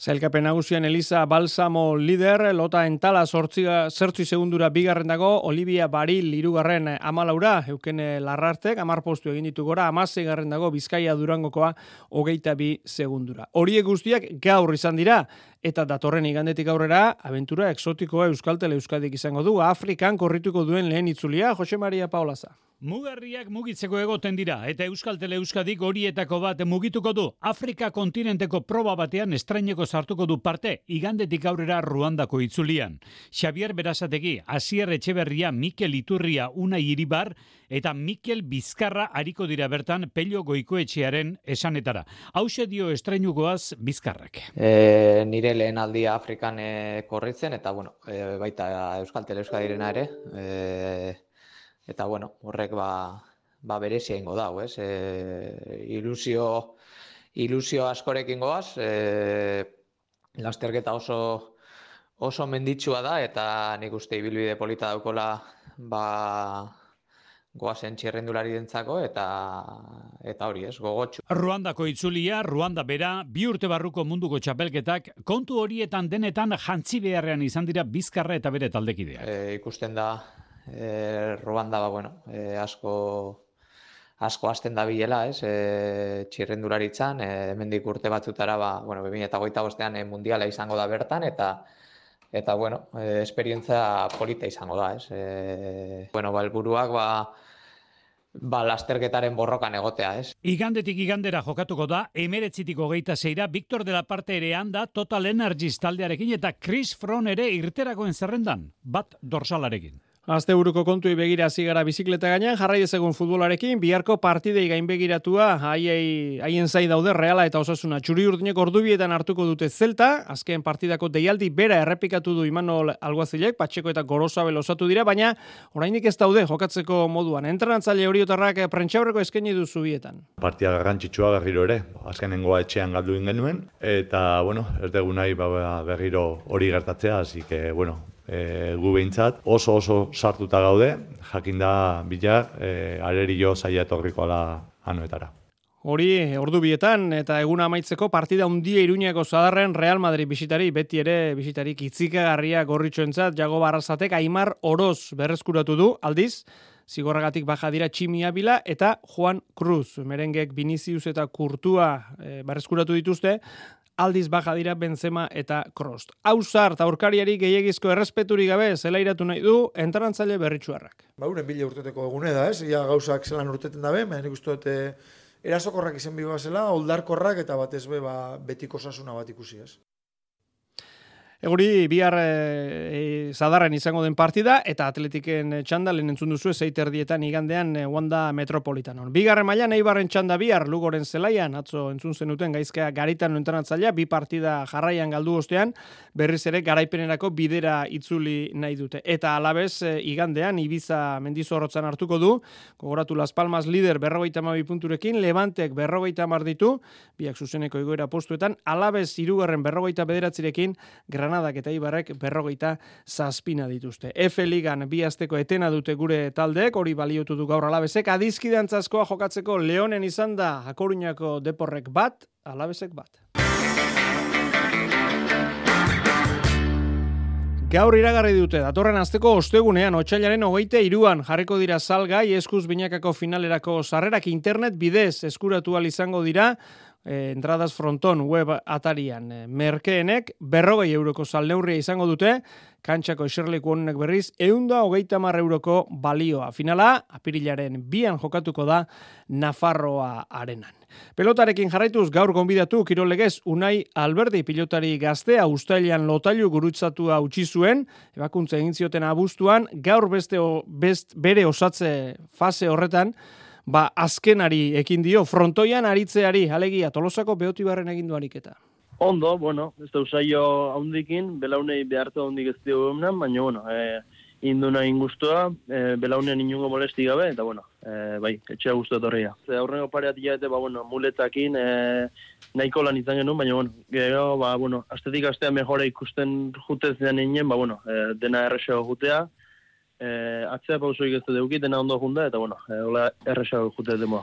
Zailkapen nagusian Elisa Balsamo lider, Lota Entala zertzi segundura bigarren dago, Olivia Baril hirugarren amalaura, euken Larrartek, amar postu egin ditu gora, amasei garren dago Bizkaia Durangokoa hogeita bi segundura. Horiek guztiak gaur izan dira, eta datorren igandetik aurrera, abentura exotikoa Euskaltel Euskadik izango du, Afrikan korrituko duen lehen itzulia, Jose Maria Paulaza. Mugarriak mugitzeko egoten dira, eta Euskaltel Euskadik horietako bat mugituko du. Afrika kontinenteko proba batean estraineko sartuko du parte, igandetik aurrera Ruandako itzulian. Xavier Berasategi, Asier Etxeberria, Mikel Iturria, Unai Iribar, eta Mikel Bizkarra ariko dira bertan Pello Goikoetxearen esanetara. Hauxe dio estrainukoaz Bizkarrak. E, nire lehen aldia Afrikan e, korritzen, eta bueno, e, baita Euskaltel Euskadirena ere, e, eta bueno, horrek ba, ba berezia ingo dau, ez? E, ilusio, ilusio askorekin goaz, e, lasterketa oso, oso menditsua da, eta nik uste ibilbide polita daukola ba, goazen txirrendulari dentzako, eta, eta hori ez, gogotxu. Ruandako itzulia, Ruanda bera, bi urte barruko munduko txapelketak, kontu horietan denetan jantzi beharrean izan dira Bizkarra eta bere taldekideak. E, ikusten da, E, Ruanda ba, bueno, e, asko asko hasten da bilela, ez? E, txirrendularitzan, e, hemendik urte batzutara ba, bueno, bi mila hogeita bostean e, mundiala izango da bertan, eta eta bueno, e, esperientza polita izango da, ez? E, bueno, ba, helburuak ba ba lasterketaren borrokan egotea, ez? Igandetik igandera jokatuko da, emeretzitik hogeita zeira, Victor de la Parte ere handa, Total Energies taldearekin, eta Chris Froome ere irterakoen zerrendan, bat dorsalarekin. Asteburuko kontui begira hasi gara bizikleta gainean, jarrai dezagun futbolarekin, biharko partidei gain begiratua, haiei, haien zai daude Reala eta Osasuna. Txuri urdinek ordubietan hartuko dute Zelta, azken partidako deialdi bera errepikatu du Imanol Alguazilek, Patxeko eta Gorosabel osatu dira, baina oraindik ez daude jokatzeko moduan. Entrenatzaile horiotarrak prentxaurreko eskaini du zubietan. Partia garrantzitsua berriro ere, azkenengoa etxean galdu genuen, eta bueno, ez dugu nahi berriro hori gertatzea, hasi que bueno, E, gu behintzat oso oso sartuta gaude, jakinda bilar, e, arerio zaila etorriko ala anoetara. Hori, ordu bietan, eta eguna amaitzeko partida handia Iruñako Zadarren Real Madrid bisitari, beti ere bisitarik itzikagarria gorritxoentzat, Jago Barrazatek Aimar Oroz berreskuratu du, aldiz, zigorragatik baja dira Tximi Abila eta Juan Cruz. Merengek Vinicius eta Kurtua e, berreskuratu dituzte, aldiz baja dira Benzema eta Kroos. Hausart, aurkariari gehiagizko errespeturik gabe zelairatu nahi du entrenatzaile berritsuarrak. Ba, uren bile urteteko egune da, ez? Ia gauzak zelan urteten dabe, baina nik uste dute erasokorrak izen biba zela, oldarkorrak eta batez be ba, betiko osasuna bat ikusi, ez? Eguri, bihar e, Zadarren izango den partida, eta Atletiken txanda, lehen entzun duzu, zeiterdietan igandean e, Wanda Metropolitanon. Bigarren mailan Eibarren txanda bihar, Lugoren zelaian, atzo entzun zenuten gaizkea Garitan entrenatzailea, bi partida jarraian galdu ostean, berriz ere garaipenerako bidera itzuli nahi dute. Eta alabez, e, igandean, Ibiza Mendizorrotzan hartuko du, gogoratu Las Palmas lider berrogeita hamabi punturekin, Levantek berrogeita hamar ditu, biak zuzeneko igoera postuetan, alabez hirugarren berrogeita bederatzirekin, Granadak eta Ibarrek berrogeita zazpina dituzte. F Ligan bi asteko etena dute gure taldeek, hori baliotu du gaur Alabezek, adizkidantzazkoa jokatzeko Leonen izan da, A Coruñako Deporrek bat, Alabezek bat. Gaur iragarri dute, datorren asteko ostegunean, otsailaren hogeita hiruan jarriko dira salgai eskuz binakako finalerako sarrerak internet bidez eskuratu ahal izango dira, E, entradas fronton web atarian. E, merkeenek berrogei euroko salneurria izango dute, kantxako eserleku honek berriz, eunda hogeita mar euroko balioa. Finala, apirilaren bian jokatuko da Nafarroa arenan. Pelotarekin jarraituz gaur gonbidatu kirolegez Unai Alberdi pilotari gaztea ustailean lotailu gurutzatua utzi zuen, ebakuntza egin zioten abuztuan, gaur beste o, best, bere osatze fase horretan, ba, azkenari ekin dio, frontoian aritzeari, alegia, Tolosako Beotibarren egin du ariketa. Ondo, bueno, ez da usaio haundikin, belaunei behartu haundik ez dio egunan, baina, bueno, e, induna ingustua, e, belaunean inungo molesti gabe, eta, bueno, e, bai, etxea guztu etorria. Aurrengo pareat iaete, ba, bueno, muletakin, e, nahiko lan izan genuen, baina, bueno, gero, ba, bueno, astetik astea mejora ikusten jutez dean inen, ba, bueno, e, dena errexago jutea, Eh, atzea pausoik ez dut eukit, dena ondo junda, eta bueno, eh, hola erresago jute demoa.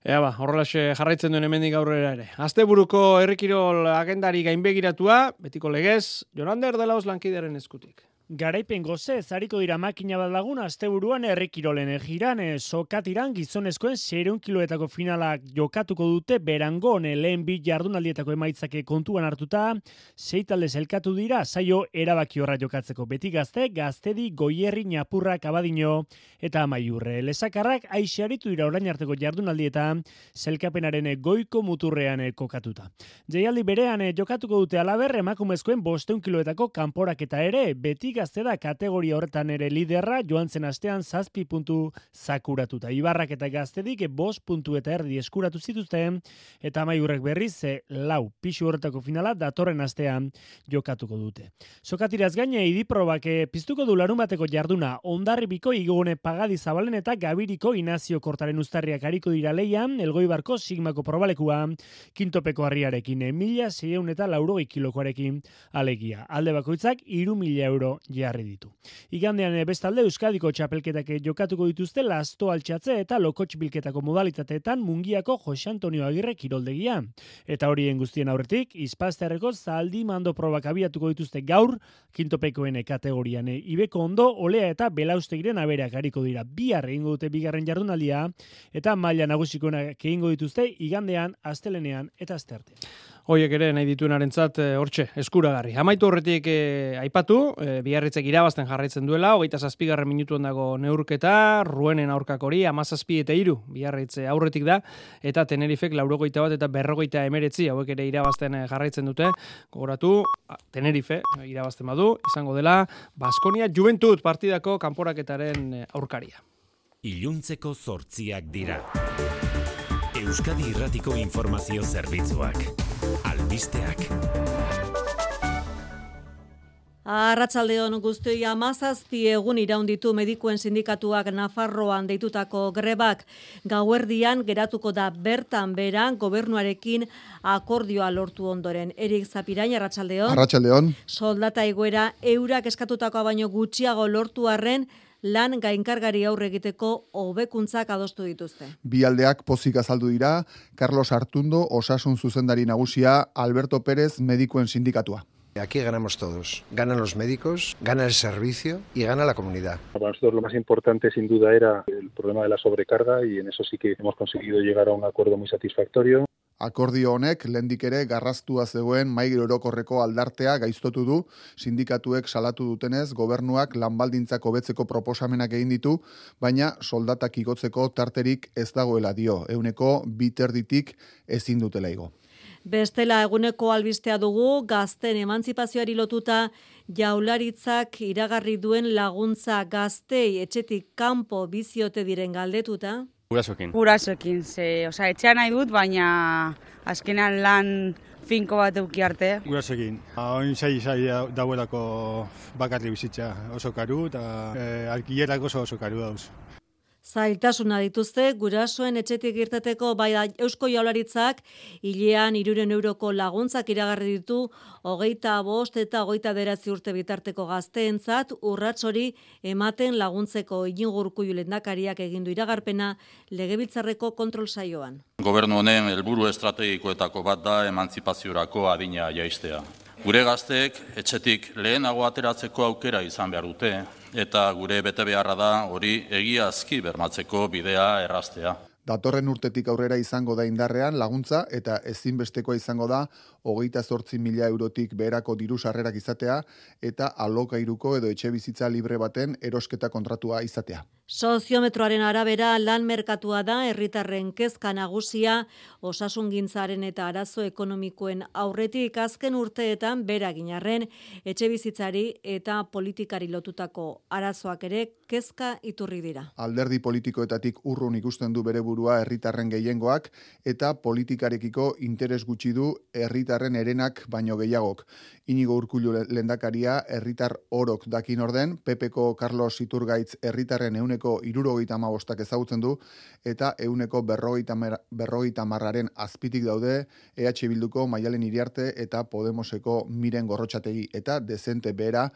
Ea ba, horrelaxe jarraitzen duen hemendik aurrera ere. Asteburuko herrikirol agendari gainbegiratua, betiko legez, Jonander de Laos lankidearen eskutik. Garaipen goze, zariko dira makina bat lagun asteburuan herrikirolen egiran, sokatiran gizonezkoen seiehun kiloetako finalak jokatuko dute Berangon lehen bi jardunaldietako emaitzake kontuan hartuta, sei talde zelkatu dira saio erabaki horra jokatzeko beti gazte, gaztedi, goierri, Ñapurrak, Abadino eta Amaiurre. Lesakarrak aixaritu dira orain arteko jardunaldietan zelkapenaren goiko muturrean kokatuta. Jaialdi berean jokatuko dute alaber emakumezkoen bostehun kiloetako kanporaketa ere, beti gazte da kategoria horretan ere liderra joan zen astean zazpi puntu zakuratuta. Ibarrak eta gaztedik bost puntu eta erdi eskuratu zituzten eta Amaiurrek berriz lau pixu horretako finala datorren astean jokatuko dute. Sokatiraz gaine idiprobak piztuko du larun bateko jarduna Hondarribiko Igone Pagadi Zabalen eta Gabiriko Inazio Kortaren uztarriak hariko dira leian, Elgoibarko Sigmako probalekua Kintopeko harriarekin mila seiehun eta laurogei kilokoarekin alegia. Alde bakoitzak hiru mila euro jarri ditu. Igandean bestalde Euskadiko txapelketak jokatuko dituzte Lasto altxatze eta Lokotx bilketako modalitateetan Mungiako Jose Antonio Agirre kiroldegia. Eta horien guztien aurretik, Izpazterreko zaldi mando probak abiatuko dituzte gaur, Kintopekoen kategorian Ibeko Ondo, Olea eta Belaustegiren abereak hariko dira. Bihar egingo dute bigarren jardunaldia eta maila nagusikoenak egingo dituzte igandean, astelenean eta asteartean. Hoiek ere nahi dituenarentzat hortxe, eskuragarri. Amaitu horretik eh, aipatu, eh, Biarritzek irabazten jarraitzen duela, hogeita zazpigarren minutuan dago neurketa, Ruenen aurkakori, amazazpi eta hiru, Biarritze aurretik da, eta Tenerifek laurogeita bat eta berrogeita emeretzi, hauek ere irabazten jarraitzen dute. Gogoratu, Tenerife irabazten badu, izango dela, Baskonia Juventud partidako kanporaketaren aurkaria. Iluntzeko zortziak dira. Euskadi Irratiko Informazio Zerbitzuak. Albisteak. Arratsaldeon guztioi hamazazpi egun iraunditu medikuen sindikatuak Nafarroan deitutako grebak. Gauerdian geratuko da bertan beran gobernuarekin akordioa lortu ondoren. Erik Zapirain, arratsaldeon. Arratsaldeon. Soldata igoera eurak eskatutakoa baino gutxiago lortu arren lan gainkargari aurre egiteko hobekuntzak adostu dituzte. Bi aldeak pozik azaldu dira, Carlos Artundo, osasun zuzendari nagusia, Alberto Pérez, medikuen sindikatua. Aquí ganamos todos. Ganan los médicos, gana el servicio y gana la comunidad. Para nosotros lo más importante sin duda era el problema de la sobrecarga y en eso sí que hemos conseguido llegar a un acuerdo muy satisfactorio. Akordio honek lehendik ere garraztua zegoen mahai orokorreko aldartea gaiztotu du, sindikatuek salatu dutenez gobernuak lanbaldintzak hobetzeko proposamenak egin ditu, baina soldatak igotzeko tarterik ez dagoela dio, ehuneko bi terditik ezin dutela igo. Bestela eguneko albistea dugu, gazten emantzipazioari lotuta Jaurlaritzak iragarri duen laguntza gaztei etxetik kanpo biziote diren galdetuta. Gurasoekin. Gurasoekin, ze, osea, etxea nahi dut, baina azkenan lan finko bat eduki arte. Gurasoekin. Oin sai sai dauelako bakarri bizitza oso karu eta eh, alkilerak oso oso karu dauz. Zailtasuna dituzte, gurasoen etxetik irteteko bai Eusko Jaurlaritzak hilean hirurehun euroko laguntzak iragarri ditu hogeita bost eta hogeita bederatzi urte bitarteko gazteentzat urrats hori ematen laguntzeko Iñigo Urkullu lehendakariak egin du iragarpena Legebiltzarreko kontrol saioan. Gobernu honen helburu estrategikoetako bat da emantzipaziorako adina jaistea. Gure gazteek etxetik lehenago ateratzeko aukera izan behar dute, eta gure betebeharra da hori egiazki bermatzeko bidea erraztea. Datorren urtetik aurrera izango da indarrean laguntza eta ezinbestekoa izango da hogeita zortzi mila eurotik beherako diru sarrerak izatea eta alokairuko edo etxe bizitza libre baten erosketa kontratua izatea. Soziometroaren arabera lan merkatua da herritarren kezka nagusia osasungintzaren eta arazo ekonomikoen aurretik azken urteetan beragin arren etxe bizitzari eta politikari lotutako arazoak ere kezka iturri dira. Alderdi politikoetatik urrun ikusten du bere burua herritarren gehiengoak eta politikarekiko interes gutxi du herritarren herenak baino gehiagok. Iñigo Urkullu lehendakaria herritar orok dakin orden, P Pko Carlos Iturgaitz herritarren ehuneko hirurogeita hamabostak ezagutzen du eta ehuneko berrogeita hamararen azpitik daude E H Bilduko Maialen Iriarte eta Podemoseko Miren Gorrotxategi eta dezente behera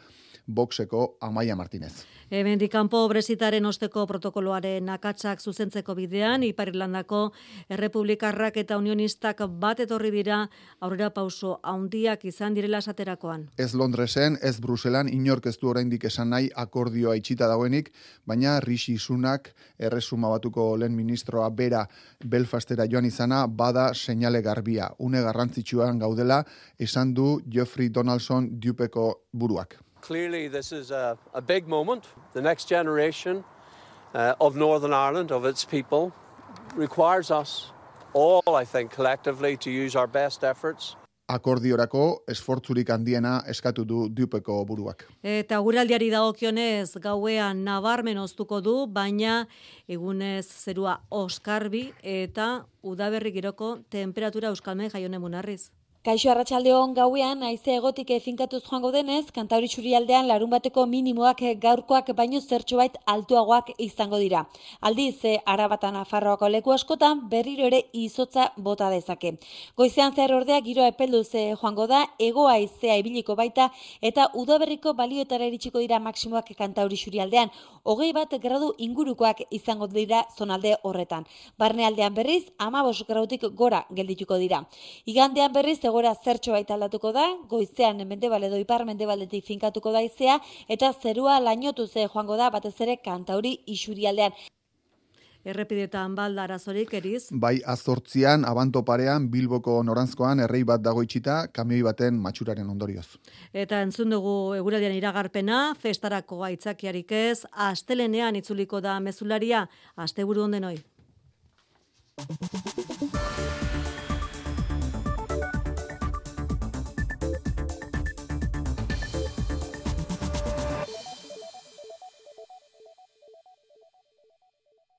Voxeko Amaia Martinez. Hemendik kanpo Brexitaren osteko protokoloaren akatsak zuzentzeko bidean, Ipar Irlandako errepublikarrak eta unionistak bat etorri dira aurrera pauso handiak izan direla esaterakoan. Ez Londresen, ez Bruselan inork ez du oraindik esan nahi akordioa itxita dagoenik, baina Rishi Sunak erresuma batuko lehen ministroa bera Belfastera joan izana bada seinale garbia. Une garrantzitsuan gaudela esan du Geoffrey Donaldson Dupeko buruak. Clearly, this is a, a big moment. The next generation uh, of Northern Ireland, of its people, requires us all, I think, collectively to use our best efforts. Akordiorako esfortzurik handiena eskatu du Dupeko buruak. Eta guraldiari dagokionez gauean nabarmen oztuko du, baina egunez zerua oskarbi eta udaberri giroko temperatura euskalmen jaione munarriz. Kaixo arratsaldeon gauean haize egotik finkatuz joango denez, Kantauri Isurialdean larun bateko minimoak gaurkoak baino zertxobait altuagoak izango dira. Aldiz, Arabatan Nafarroako leku askotan berriro ere izotza bota dezake. Goizean zehar ordea giroa epelduz joango da, hego haizea ibiliko baita eta udaberriko balioetara iritsiko dira maksimoak Kantauri Isurialdean. Hogei bat gradu ingurukoak izango dira zonalde horretan. Barnealdean berriz, hamabost gradutik gora geldituko dira. Igandean berriz egora zertxo baita aldatuko da, goizean mendebal edo ipar mendebaldetik finkatuko da haizea eta zerua lainotu ze joango da batez ere Kantauri Isurialdean. Errepidetan balda arazorik eriz. Bai azortzian, abanto parean, Bilboko noranzkoan errei bat dago itxita, kamioi baten matxuraren ondorioz. Eta entzun dugu eguraldian iragarpena, festarako aitzakiarik ez, astelenean itzuliko da mezularia, asteburu ondenoi.